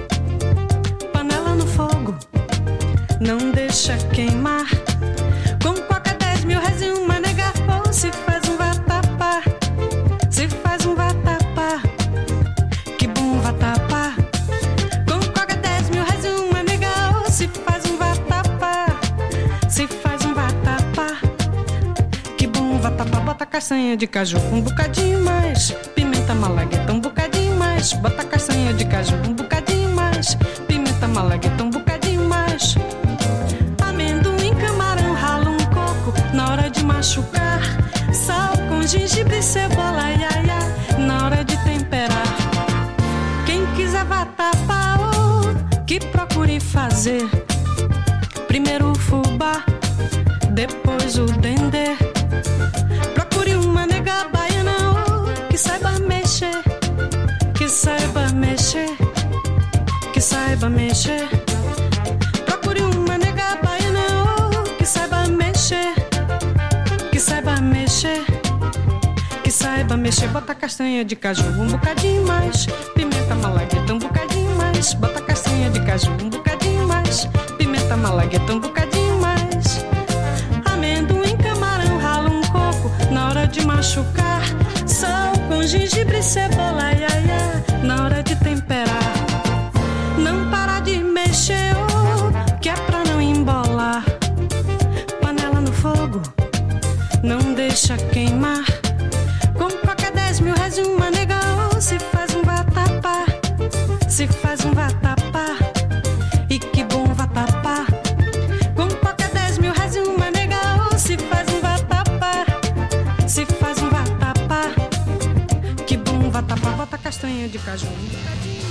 Panela no fogo, não deixa queimar. Com coca dez mil reais e uma nega oh, se faz um vatapá, se faz um vatapá, que bom vatapá. Com coca dez mil reais e uma nega oh, se faz um vatapá, se faz um vatapá, que bom vatapá. Bota castanha de caju um bocadinho mais, pimenta malagueta um bocadinho mais, bota castanha de caju um bocadinho mais, pimenta malagueta um bocadinho mais. Amendoim, camarão, rala um coco na hora de machucar, sal com gengibre, cebola, iaia, na hora de temperar. Quem quiser vatapá, oh, que procure fazer. Primeiro o fubá, depois o dendê. Procure uma nega baiana oh, que saiba mexer, que saiba mexer, que saiba mexer. Procure uma nega baiana oh, que saiba mexer, que saiba mexer, que saiba mexer. Bota castanha de caju um bocadinho mais, pimenta malagueta um bocadinho mais, bota castanha de caju um bocadinho mais, pimenta malagueta um bocadinho mais. Amendoim, camarão, rala um coco na hora de machucar, sal com gengibre, cebola, iaia, na hora de temperar. Não para de mexer, oh, que é pra não embolar. Panela no fogo, não deixa queimar. Com coca dez mil reais e uma nega oh, se faz um vatapá, se faz um vatapá, e que bom vatapá. Com coca dez mil reais e uma nega oh, se faz um vatapá, se faz um vatapá, que bom vatapá. Bota castanha de caju um bocadinho.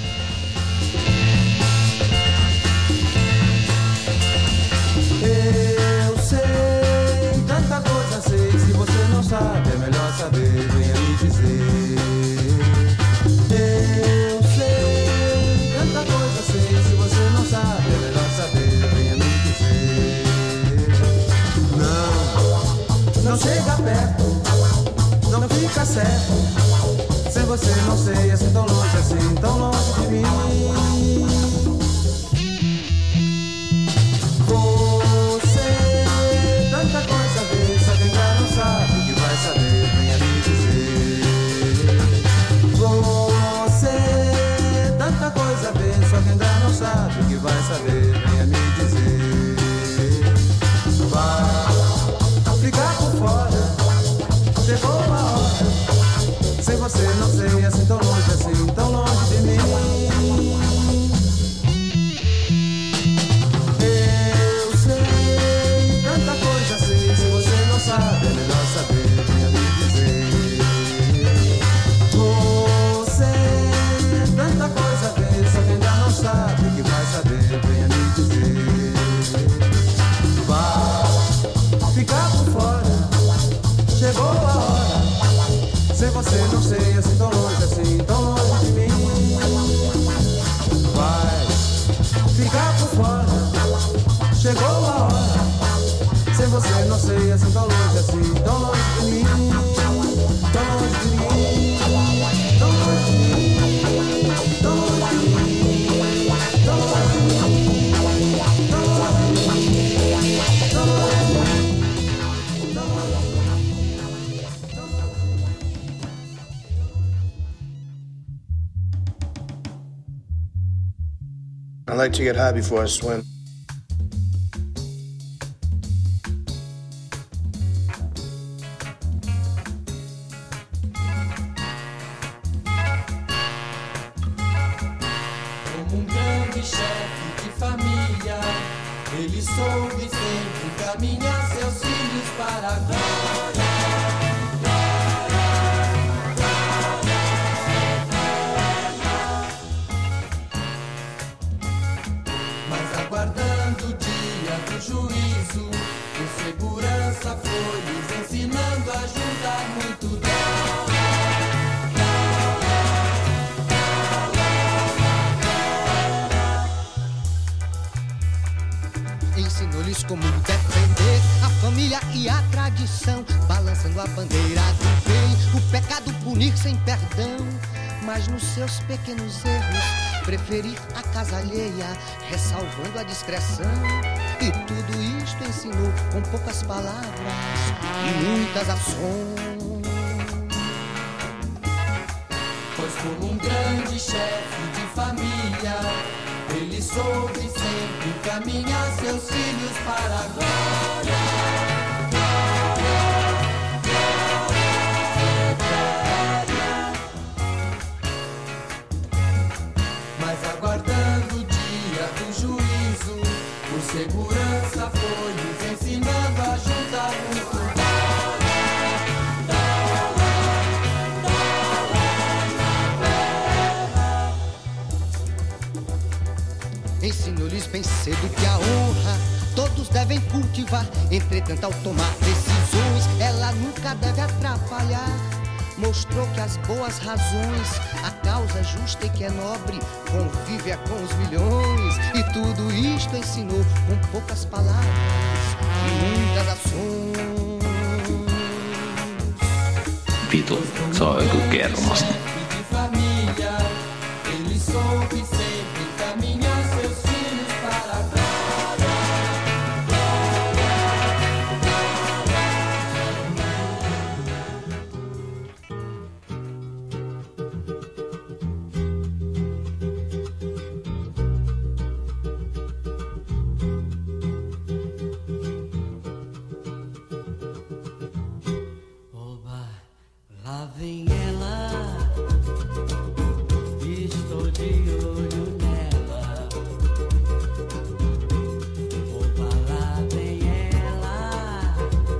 Eu sei, tanta coisa sei. Se você não sabe, é melhor saber, venha me dizer. Eu sei, tanta coisa sei. Se você não sabe, é melhor saber, venha me dizer. Não, não chega perto, não fica certo. Sem você não sei, assim tão longe, assim tão longe de mim. Tanta coisa vê, só quem já não sabe que vai saber, venha me dizer. Você, tanta coisa vê, só quem já não sabe que vai saber, venha me dizer. Vai ficar por fora, chegou a hora. Sem você não sei, assim tão longe, assim tão longe de mim. Sabe, é melhor saber, venha me dizer. Você, tanta coisa vê, só quem já não sabe que vai saber, venha me ficar por fora. Chegou a hora. Sem você não sei assim tão longe assim, tão longe de mim, tão longe de mim, tão longe de mim, tão longe de mim, tão longe de mim, tão longe de mim, tão longe de mim, tão longe de mim. I like to get high before I swim. Como um grande chefe de família, ele soube sempre encaminhar seus filhos para a glória. Mas aguardando o dia do juízo, com segurança foi lhes ensinando a juntar muito dólar. Ensinou-lhes como defender a família e a tradição, balançando a bandeira do bem, o pecado punir sem perdão. Mas nos seus pequenos erros, preferir a casa alheia, ressalvando a discreção. E tudo isto ensinou com poucas palavras e muitas ações. Pois como um grande chefe de família, ele soube sempre encaminhar seus filhos para a glória. Mas aguardando o dia do juízo, por segurança foi lhes ensinando a juntar muito dólar. Ensinou-lhes bem cedo que a honra todos devem cultivar. Entretanto, ao tomar decisões, ela nunca deve atrapalhar. Mostrou que as boas razões, a causa justa e que é nobre, convive é com os milhões. E tudo isto ensinou com poucas palavras e muitas ações. Vitu, se on joku kermasta. De família, ele soube sempre encaminhar seus filhos para a glória. Oba, lá vem ela, estou de olho nela. Oba, lá vem ela,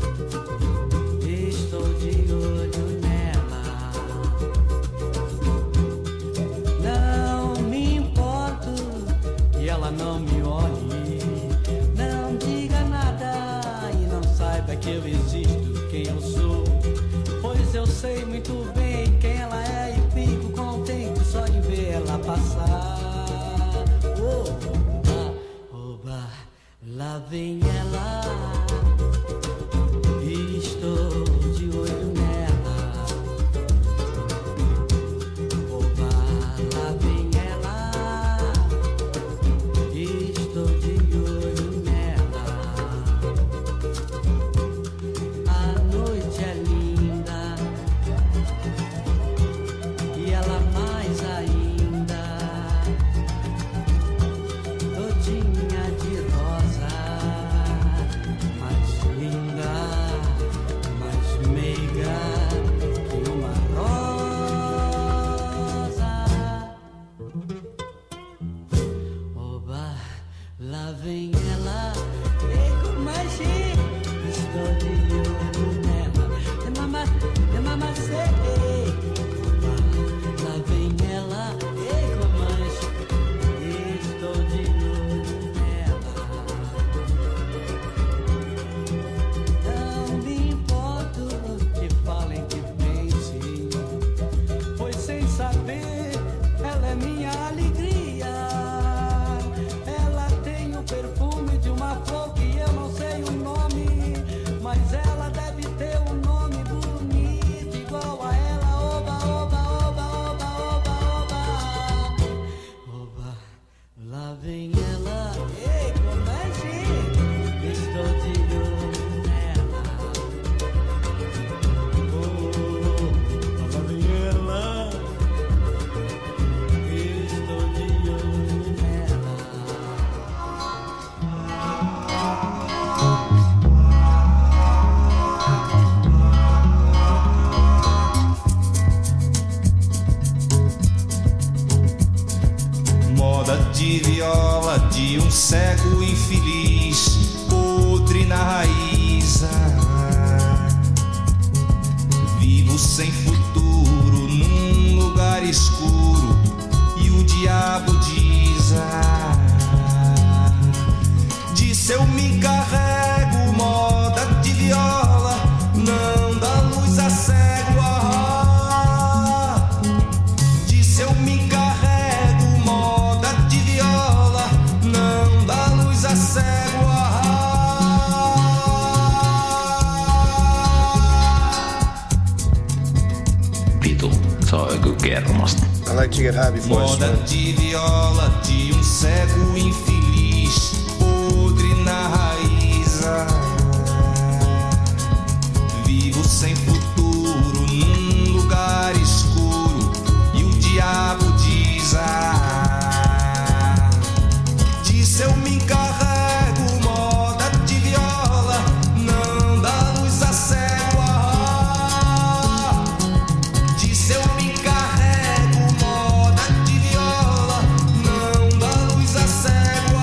estou de olho nela. Não me importo que ela não me olhe, não diga nada e não saiba que eu existo, quem eu sou. Pois eu sei muito bem quem ela é e fico contente só de ver ela passar. Oba, oba, lá vem ela, estou de olho nela. Oba, lá vem ela, estou de olho nela. A noite é linda e ela mais ainda, todinha de rosa, mais linda, mais meiga que uma rosa. Oba, lá vem ela, e com magia, estou de olho nela. É mama, é mamacê. Lá vem ela, e com magia, estou de olho nela. Não me importo que falem, que pensem, pois sem saber ela é minha alegria. Ela vem ela, ei, como é, gente? Estou de olho nela. Oh, lá vem ela, estou de olho nela. Moda de viola de um cego infeliz, podre na raiz. Ah, vivo sem futuro num lugar escuro e o diabo diz: ah, disse eu me carrego. Moda de viola não dá luz a cego. Ah, disse eu me carrego. Vitu, se on joku kermasta. I like to get high before I Moda swim. de viola de um cego infeliz, podre na raiz. Vivo sem futuro num lugar escuro e o diabo diz: ah, disse eu me carrego. Moda de viola não dá luz a cego. Ah, disse eu me carrego. Moda de viola não dá luz a cego.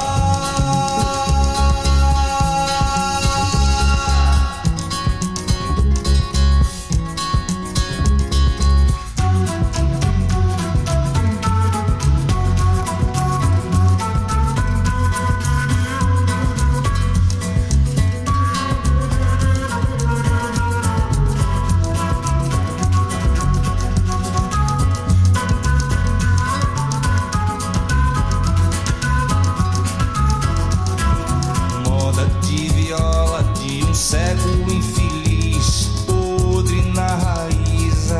Moda de viola de um cego infeliz, podre na raiz.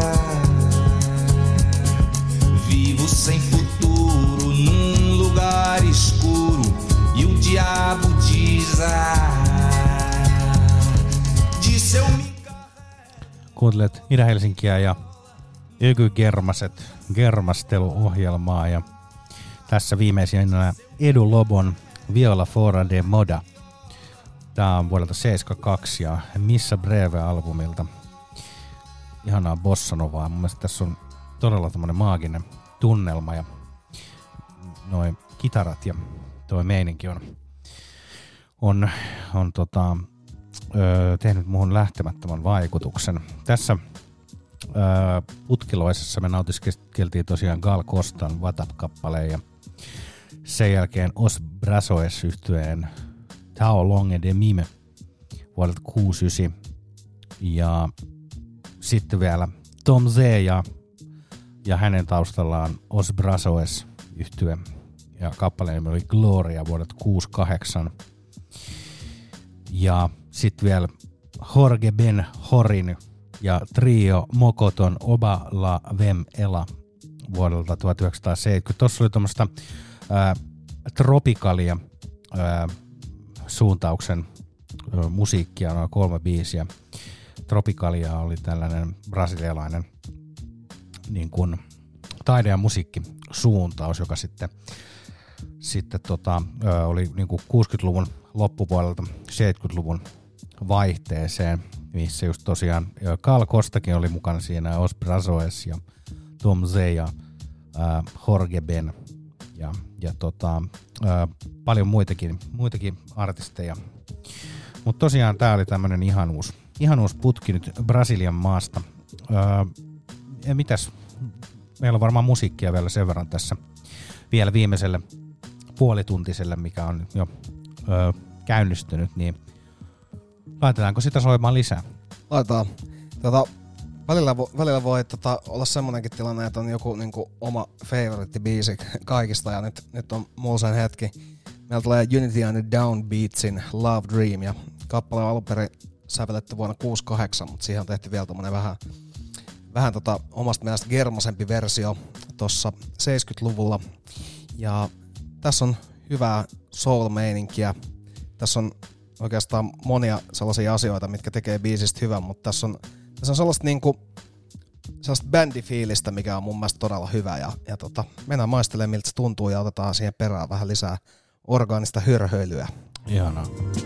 Vivo sem futuro num lugar escuro e o diabo diz: ah, disse eu me. Kuuntelet Itä-Helsinkiä ja Öky Germaset germasteluohjelmaa ja tässä viimeisenä Edu Lobon Viola Fora de Moda. Tää on vuodelta seitsemänkymmentäkaksi ja Missa Breve-albumilta. Ihanaa bossanovaa. Mun mielestä tässä on todella tämmönen maaginen tunnelma ja noin kitarat ja toi meininki on, on, on tota, ö, tehnyt muhun lähtemättömän vaikutuksen. Tässä ö, putkiloisessa me nautiskeltiin tosiaan Gal Costan Vatap-kappaleen ja sen jälkeen Os Brasoes -yhtyeen Tao Longe de Mime vuodelta kuusikymmentäyhdeksän ja sitten vielä Tom Z ja, ja hänen taustallaan Os Brasoes -yhtye ja kappaleen nimi oli Gloria vuodelta kuusikymmentäkahdeksan ja sitten vielä Jorge Ben Horin ja trio Mokoton Oba La Vem Ela vuodelta tuhatyhdeksänsataaseitsemänkymmentä. Tuossa oli tuommoista tropikalia ää, suuntauksen ää, musiikkia, noin kolme biisiä. Tropikalia oli tällainen brasilialainen niin kuin taide- ja musiikkisuuntaus, joka sitten, sitten tota, ää, oli niin kuin kuusikymmentäluvun loppupuolelta seitsemänkymmentäluvun vaihteeseen, missä just tosiaan Gal Costakin oli mukana siinä, Os Brasoes ja Tom Z ja ää, Jorge Ben ja, ja tota, ää, paljon muitakin, muitakin artisteja. Mutta tosiaan tää oli tämmönen ihanuus, ihanuus putki nyt Brasilian maasta. Ää, ja mitäs, meillä on varmaan musiikkia vielä sen verran tässä vielä viimeiselle puolituntiselle, mikä on jo ää, käynnistynyt, niin laitetaanko sitä soimaan lisää? Laitetaan. Tota, välillä, vo, välillä voi tota, olla semmonenkin tilanne, että on joku niinku, oma favorite-biisi kaikista, ja nyt, nyt on mulla sen hetki. Meillä tulee Unity and the Downbeatsin Love Dream, ja kappale on alun perin sävelletty vuonna kuusikymmentäkahdeksan, mutta siihen on tehty vielä tommonen vähän, vähän tota, omasta mielestä germasempi versio tossa seitsemänkymmentäluvulla. Ja Tässä on hyvää soul-meininkiä. Tässä on oikeastaan monia sellaisia asioita, mitkä tekee biisistä hyvän, mutta tässä on, tässä on sellaista, niinku, sellaista bändifiilistä, mikä on mun mielestä todella hyvä. Ja, ja tota, mennään maistelemaan, miltä se tuntuu, ja otetaan siihen perään vähän lisää orgaanista hörhöilyä. Ihanaa.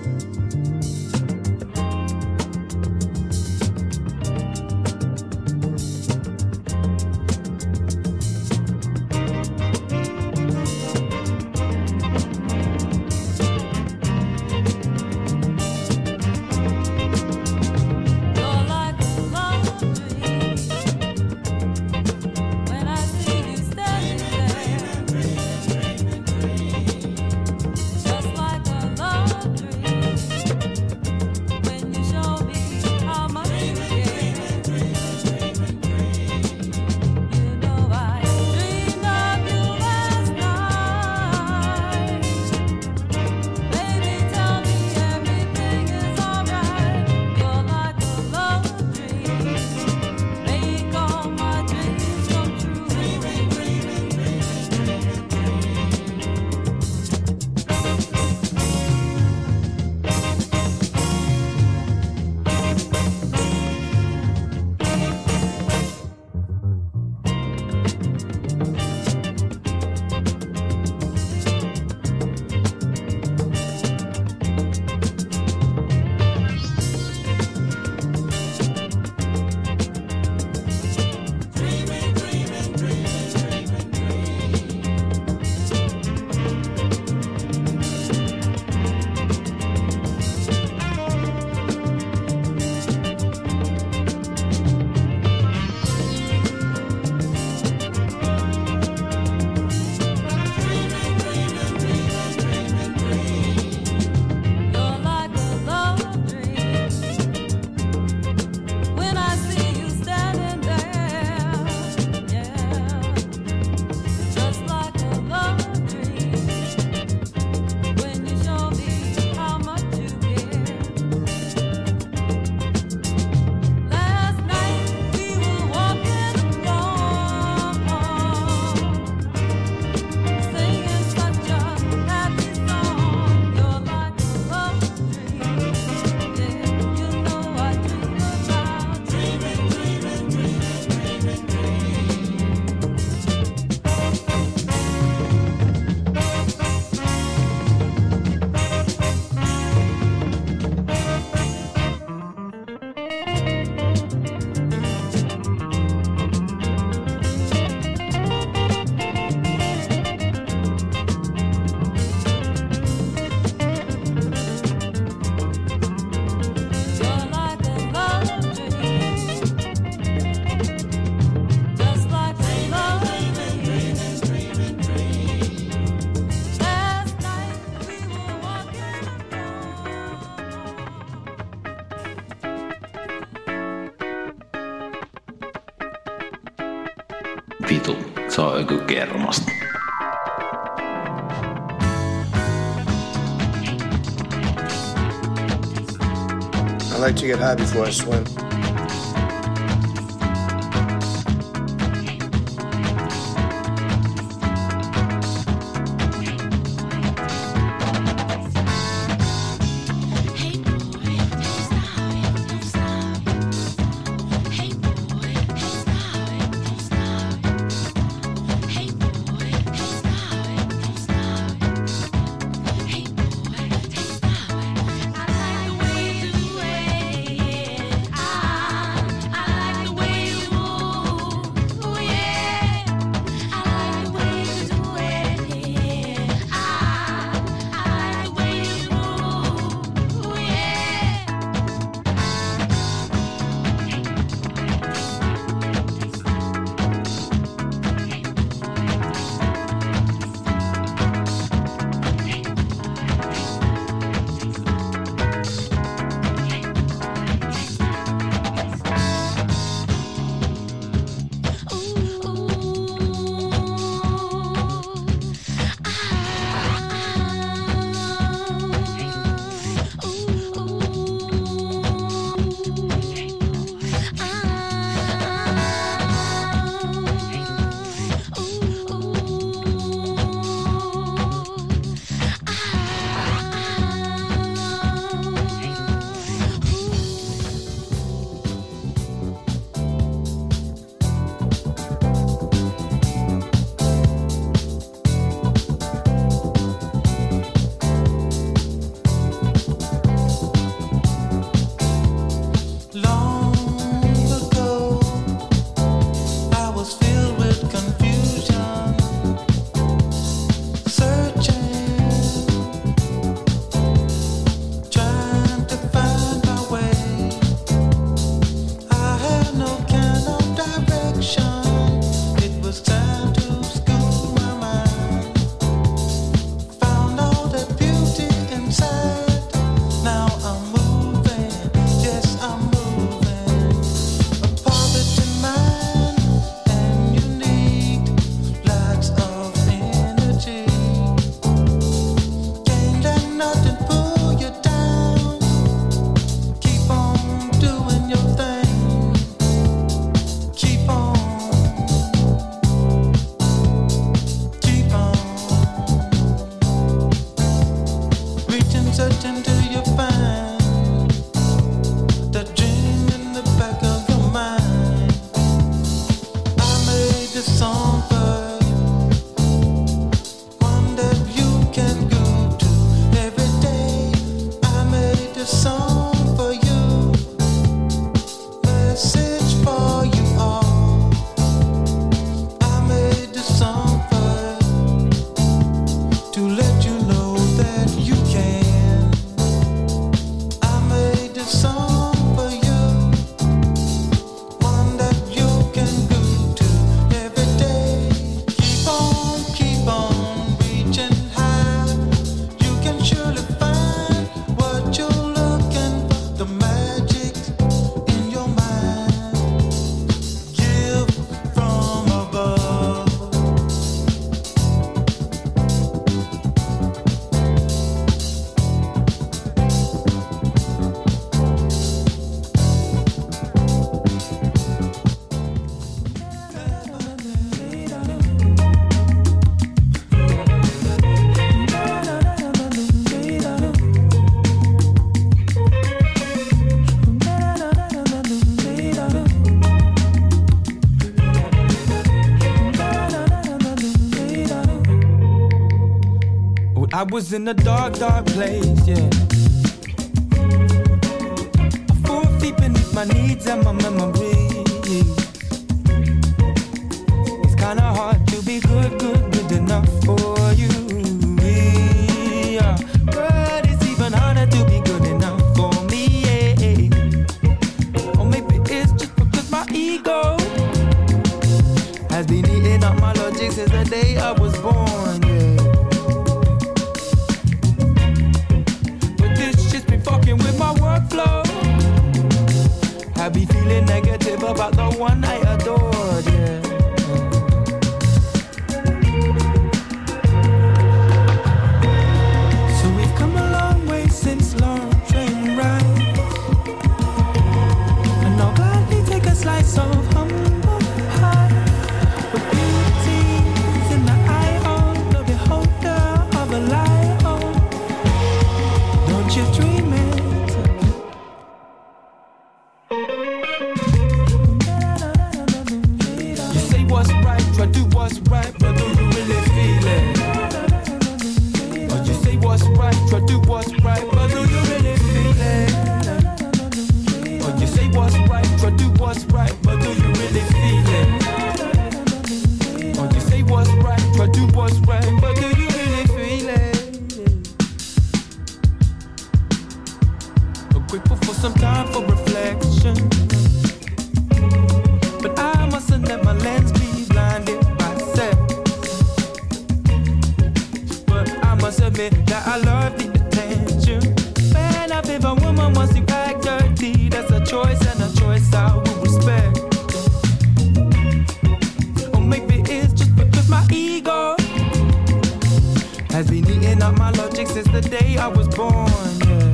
Vitu, se on joku kermasta. I like to get high before I swim. I search until you find the dream in the back of your mind. I made this song for one that you can go to every day. I made this song for you, message for you all. I made this song for to let you know that you can. I made this song for you, one that you can go to every day. Keep on, keep on reaching high. You can surely find what you're looking for. The magic in your mind. Give from above. I was in a dark, dark place, yeah. Four feet beneath my needs and my memories. It's kinda hard to be good, good, good enough for you. Yeah. But it's even harder to be good enough for me, yeah. Or maybe it's just because my ego has been eating up my logic since the day I was born, yeah. Fucking with my workflow. I be feeling negative about the one I adored, yeah. So we've come a long way since long train ride, and I'll gladly take a slice of humble pie. With beauty's in the eye of the beholder of a lion. Don't you dream it? You say what's right, try do what's right, but do you really feel it? Or you say what's right, try do what's right, but do you really feel it? Or you say what's right, try do what's right, but do you really feel it? Or you say what's right, try do what's right, but do you really feel it? Grateful for some time for reflection, but I mustn't let my lens be blinded by sex. But I must admit that I love the attention. Man, if a woman wants to act dirty, that's a choice and a choice I will respect. Or maybe it's just because my ego has been eating up my logic since the day I was born, yeah.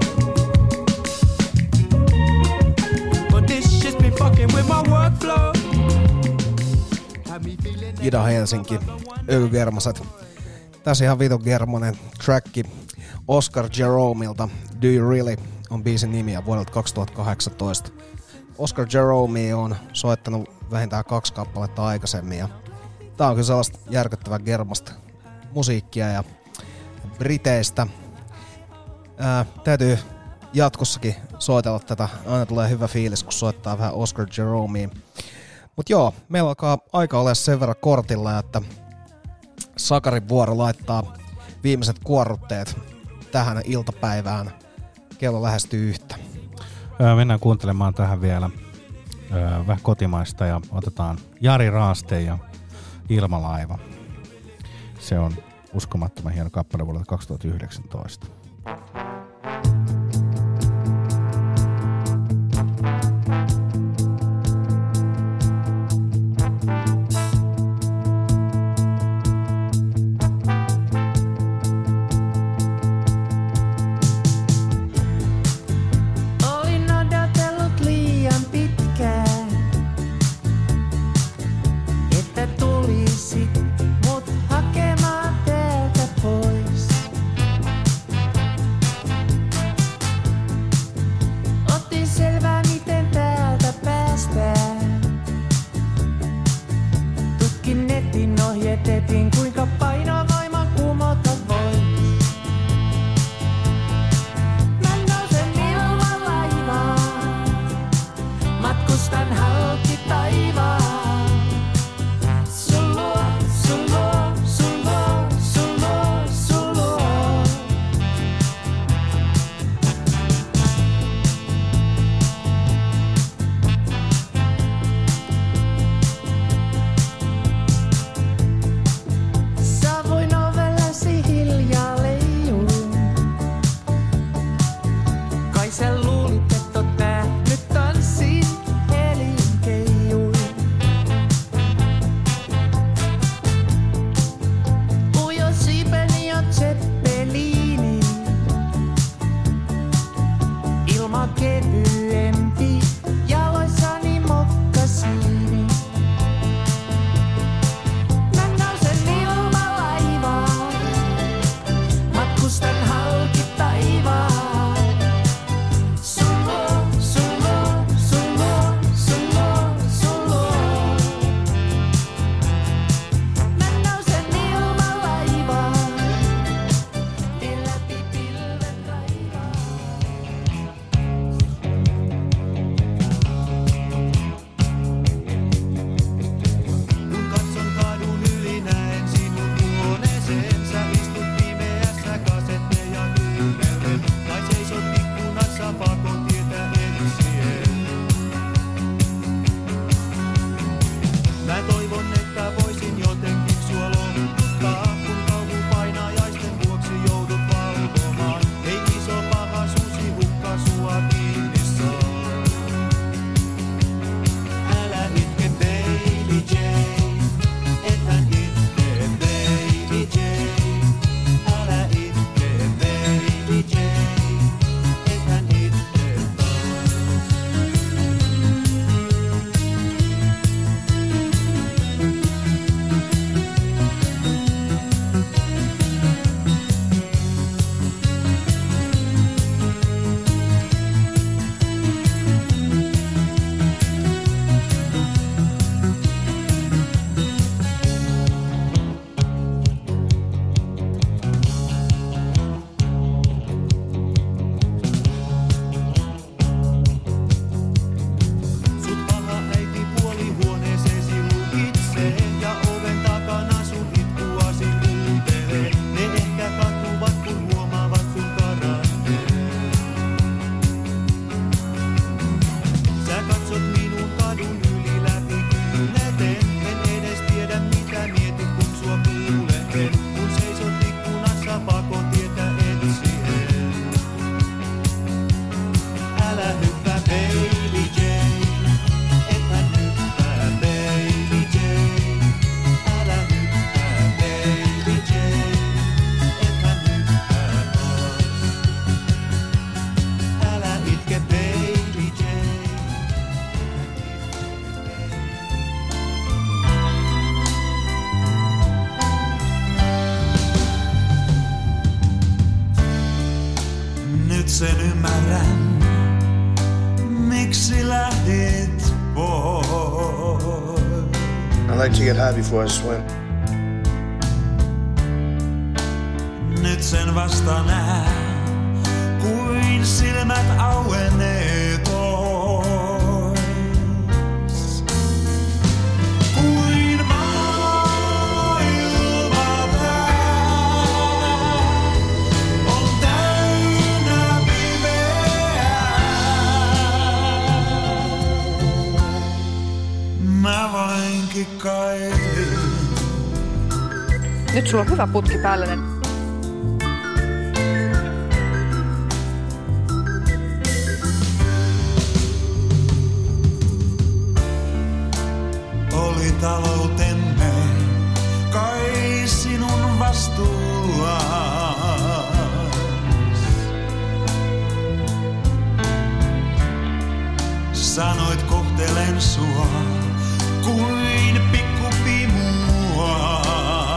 Ida Helsinki, Ökygermaset. Tässä ihan vitun germonen tracki Oscar Jeromeilta. Do You Really on biisin nimiä vuodelta kaksituhattakahdeksantoista. Oscar Jerome on soittanut vähintään kaksi kappaletta aikaisemmin. Ja tää on kyllä sellaista järkyttävää germasta musiikkia ja briteistä. Ää, täytyy jatkossakin soitella tätä. Aina tulee hyvä fiilis, kun soittaa vähän Oscar Jeromea. Mut joo, meillä alkaa aika olla sen verran kortilla, että Sakarin vuoro laittaa viimeiset kuorrutteet tähän iltapäivään. Kello lähestyy yhtä. Öö, mennään kuuntelemaan tähän vielä öö, vähän kotimaista ja otetaan Jari Raaste ja Ilmalaiva. Se on uskomattoman hieno kappale vuodelta kaksituhattayhdeksäntoista. Mut hakemaan teiltä pois. sen ymmärrän, miksi lähdit pois. I like to get high before I swim. Nyt sen vasta näen, kuin silmät auenee pois. Kuin maailma tää on täynnä pimeää. Mä vain kikkailin. Nyt sulla on hyvä putki päällä. Oli taloutemme kai sinun vastuullas. Sanoit kohtelen sua kuin pikkupimua.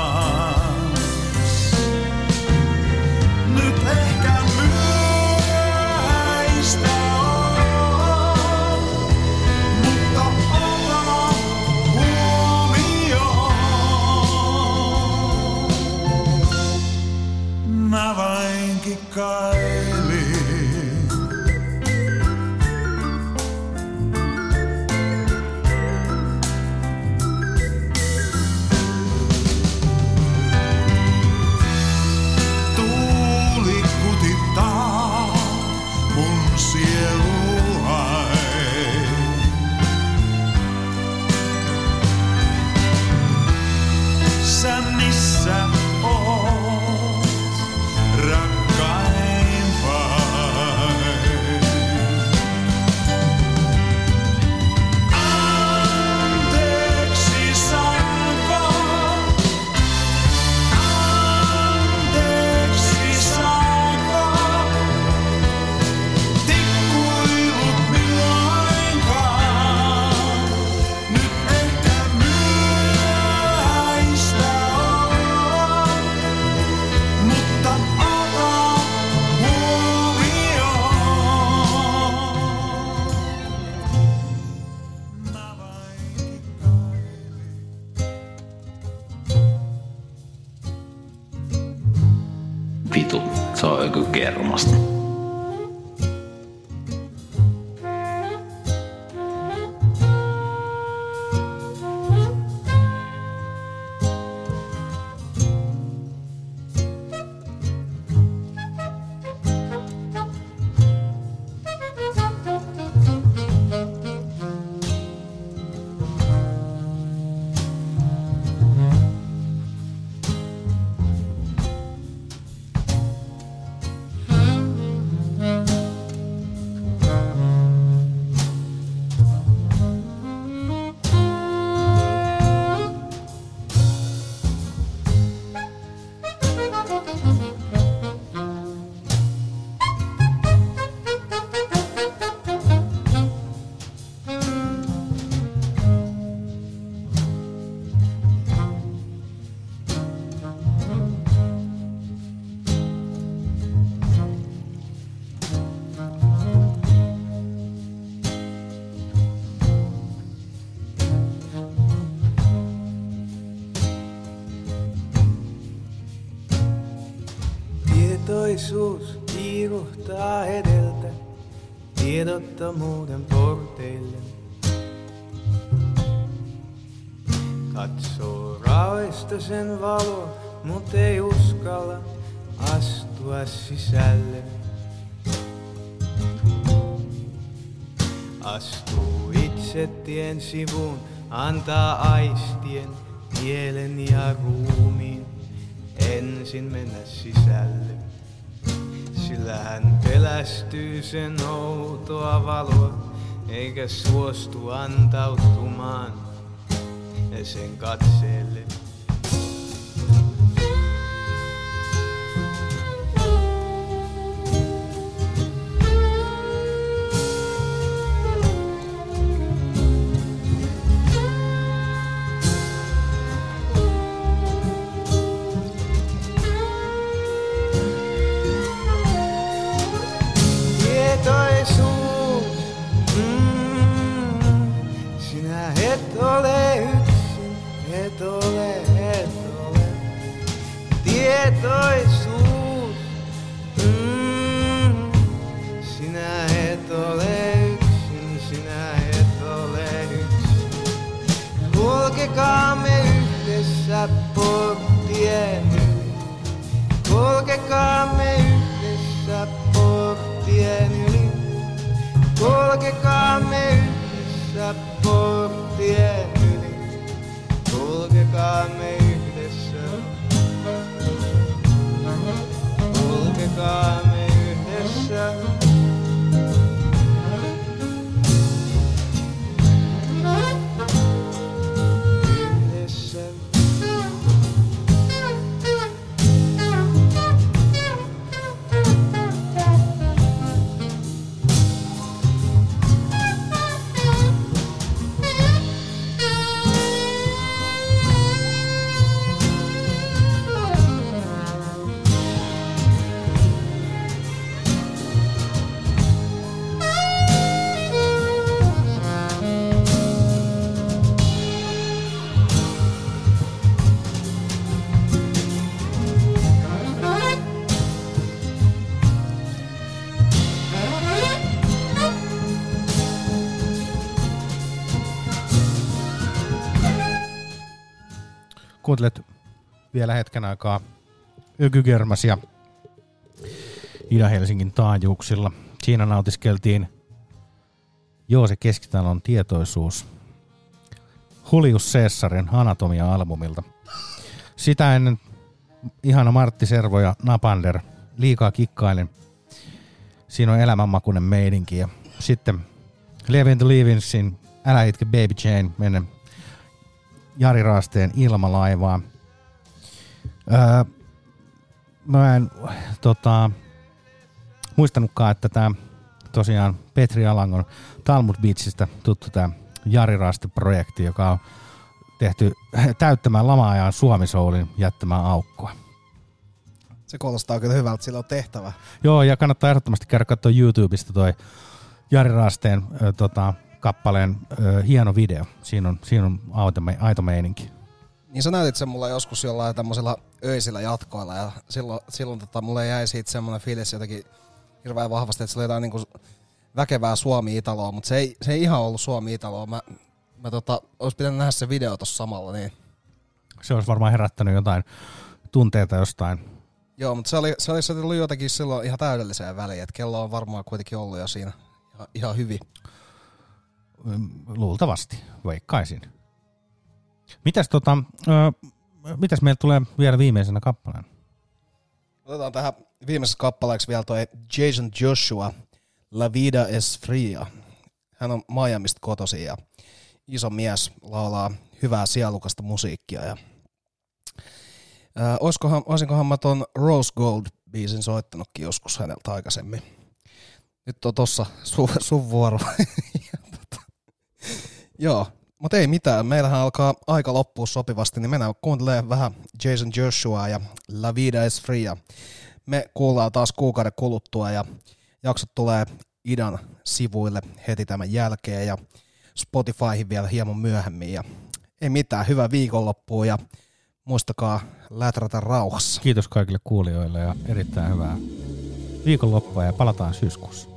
Nyt ehkä myöhäistä on, mutta ota huomioon. Mä vain kikkailin. Sä missä oot, rakkaimpain? Anteeksi saanko, anteeksi saanko, tikkuilut milloinkaan, nyt ehkä myöhäistä on, mutta ota Vitu, se on joku kermasta. Tietoisuus kiiruhtaa edeltä tiedottomuuden porteille. Katsoo raoista sen valo, mut ei uskalla astua sisälle. Astuu itse tien sivuun, antaa aistien, mielen ja ruumiin ensin mennä sisälle. Sillä hän pelästyy sen outoa valoa, eikä suostu antautumaan sen katseelle. tietoisuus. Mm, sinä et ole yksin, sinä et ole yksin. Kulkekaamme yhdessä porttien yli. Kulkekaamme yhdessä porttien yli. Kulkekaamme yhdessä porttien yli. Kulkekaamme yhdessä. Kulkekaamme yhdessä. Yhdessä. Kuuntelet vielä hetken aikaa Ökygermasia Ida-Helsingin taajuuksilla. Siinä nautiskeltiin Joose Keskitalon tietoisuus Julius Caesarin Anatomia-albumilta. Sitä ennen ihana Martti Servo ja Napander, Liikaa kikkailen. Siinä on elämänmakuinen meidinki. Ja sitten Leaving the Leavinsin Älä itke Baby Jane menen Jari Raasteen Ilmalaivaa. Öö, mä en tota, muistanutkaan, että tämä tosiaan Petri Alangon Talmud Beachistä tuttu tämä Jari Raaste-projekti, joka on tehty täyttämään lama-ajan Suomi-soulin jättämään aukkoa. Se kuulostaa kyllä hyvältä, sillä on tehtävä. Joo, ja kannattaa ehdottomasti käydä katsoa YouTubesta toi Jari Raasteen ö, tota, kappaleen ö, hieno video. Siinä on, siinä on aito, aito meininki. Niin sä näytit sen mulle joskus jollain tämmöisellä öisillä jatkoilla ja silloin, silloin tota, mulle jäi siitä semmoinen fiilis jotenkin hirveän vahvasti, että se oli jotain niinku väkevää Suomi-Italoa, mutta se ei, se ei ihan ollut Suomi-Italoa. Mä, mä tota, olisi pitänyt nähdä se video tossa samalla. Niin. Se olisi varmaan herättänyt jotain tunteita jostain. Joo, mutta se oli, se oli, se oli jotenkin silloin ihan täydelliseen väliin, että kello on varmaan kuitenkin ollut jo siinä ihan, ihan hyvin. Luultavasti, veikkaisin. Mitäs, tota, ö, mitäs meillä tulee vielä viimeisenä kappaleen? Otetaan tähän viimeisessä kappaleeksi vielä toi Jason Joshua, La Vida es Fria. Hän on Miamista kotoisin ja iso mies, laulaa hyvää sielukasta musiikkia. Ja, ää, olisikohan, olisinkohan mä ton Rose Gold-biisin soittanutkin joskus häneltä aikaisemmin. Nyt on tossa su, sun vuoro. Joo, mutta ei mitään. Meillähän alkaa aika loppua sopivasti, niin mennään kuuntelemaan vähän Jason Joshua ja La Vida es Fria. Me kuullaan taas kuukauden kuluttua ja jaksot tulee Idan sivuille heti tämän jälkeen ja Spotifyhin vielä hieman myöhemmin. Ja ei mitään, hyvää viikonloppua ja muistakaa läträtä rauhassa. Kiitos kaikille kuulijoille ja erittäin hyvää viikonloppua ja palataan syyskuussa.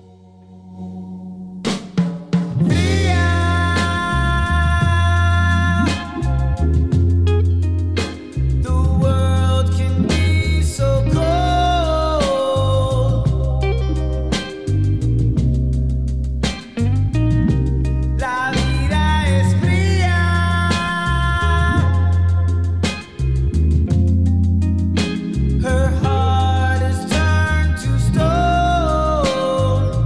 Her heart is turned to stone.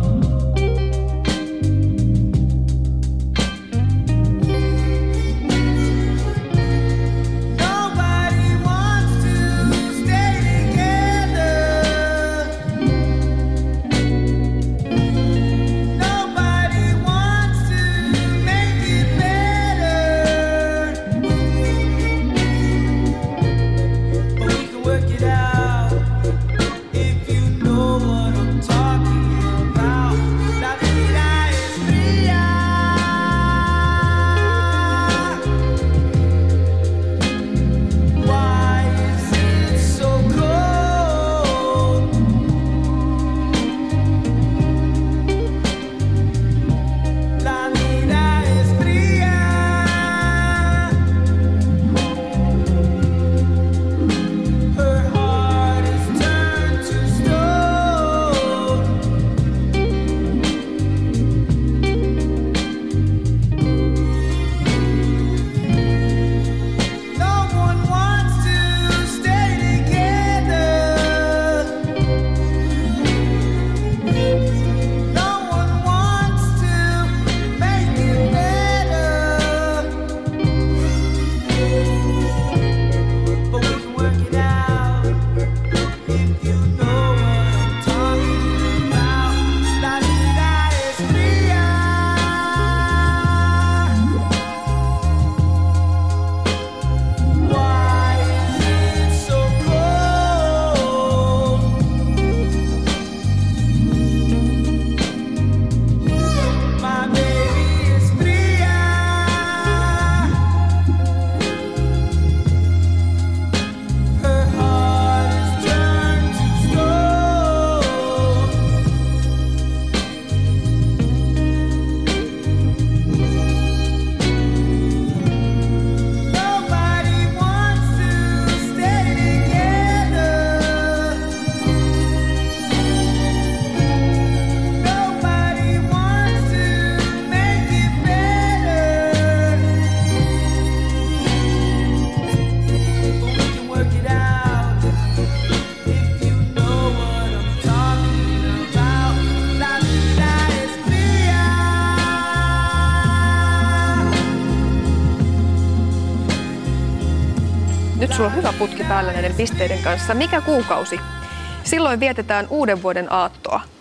Nyt sulla on hyvä putki päällä näiden pisteiden kanssa. Mikä kuukausi? Silloin vietetään uuden vuoden aattoa.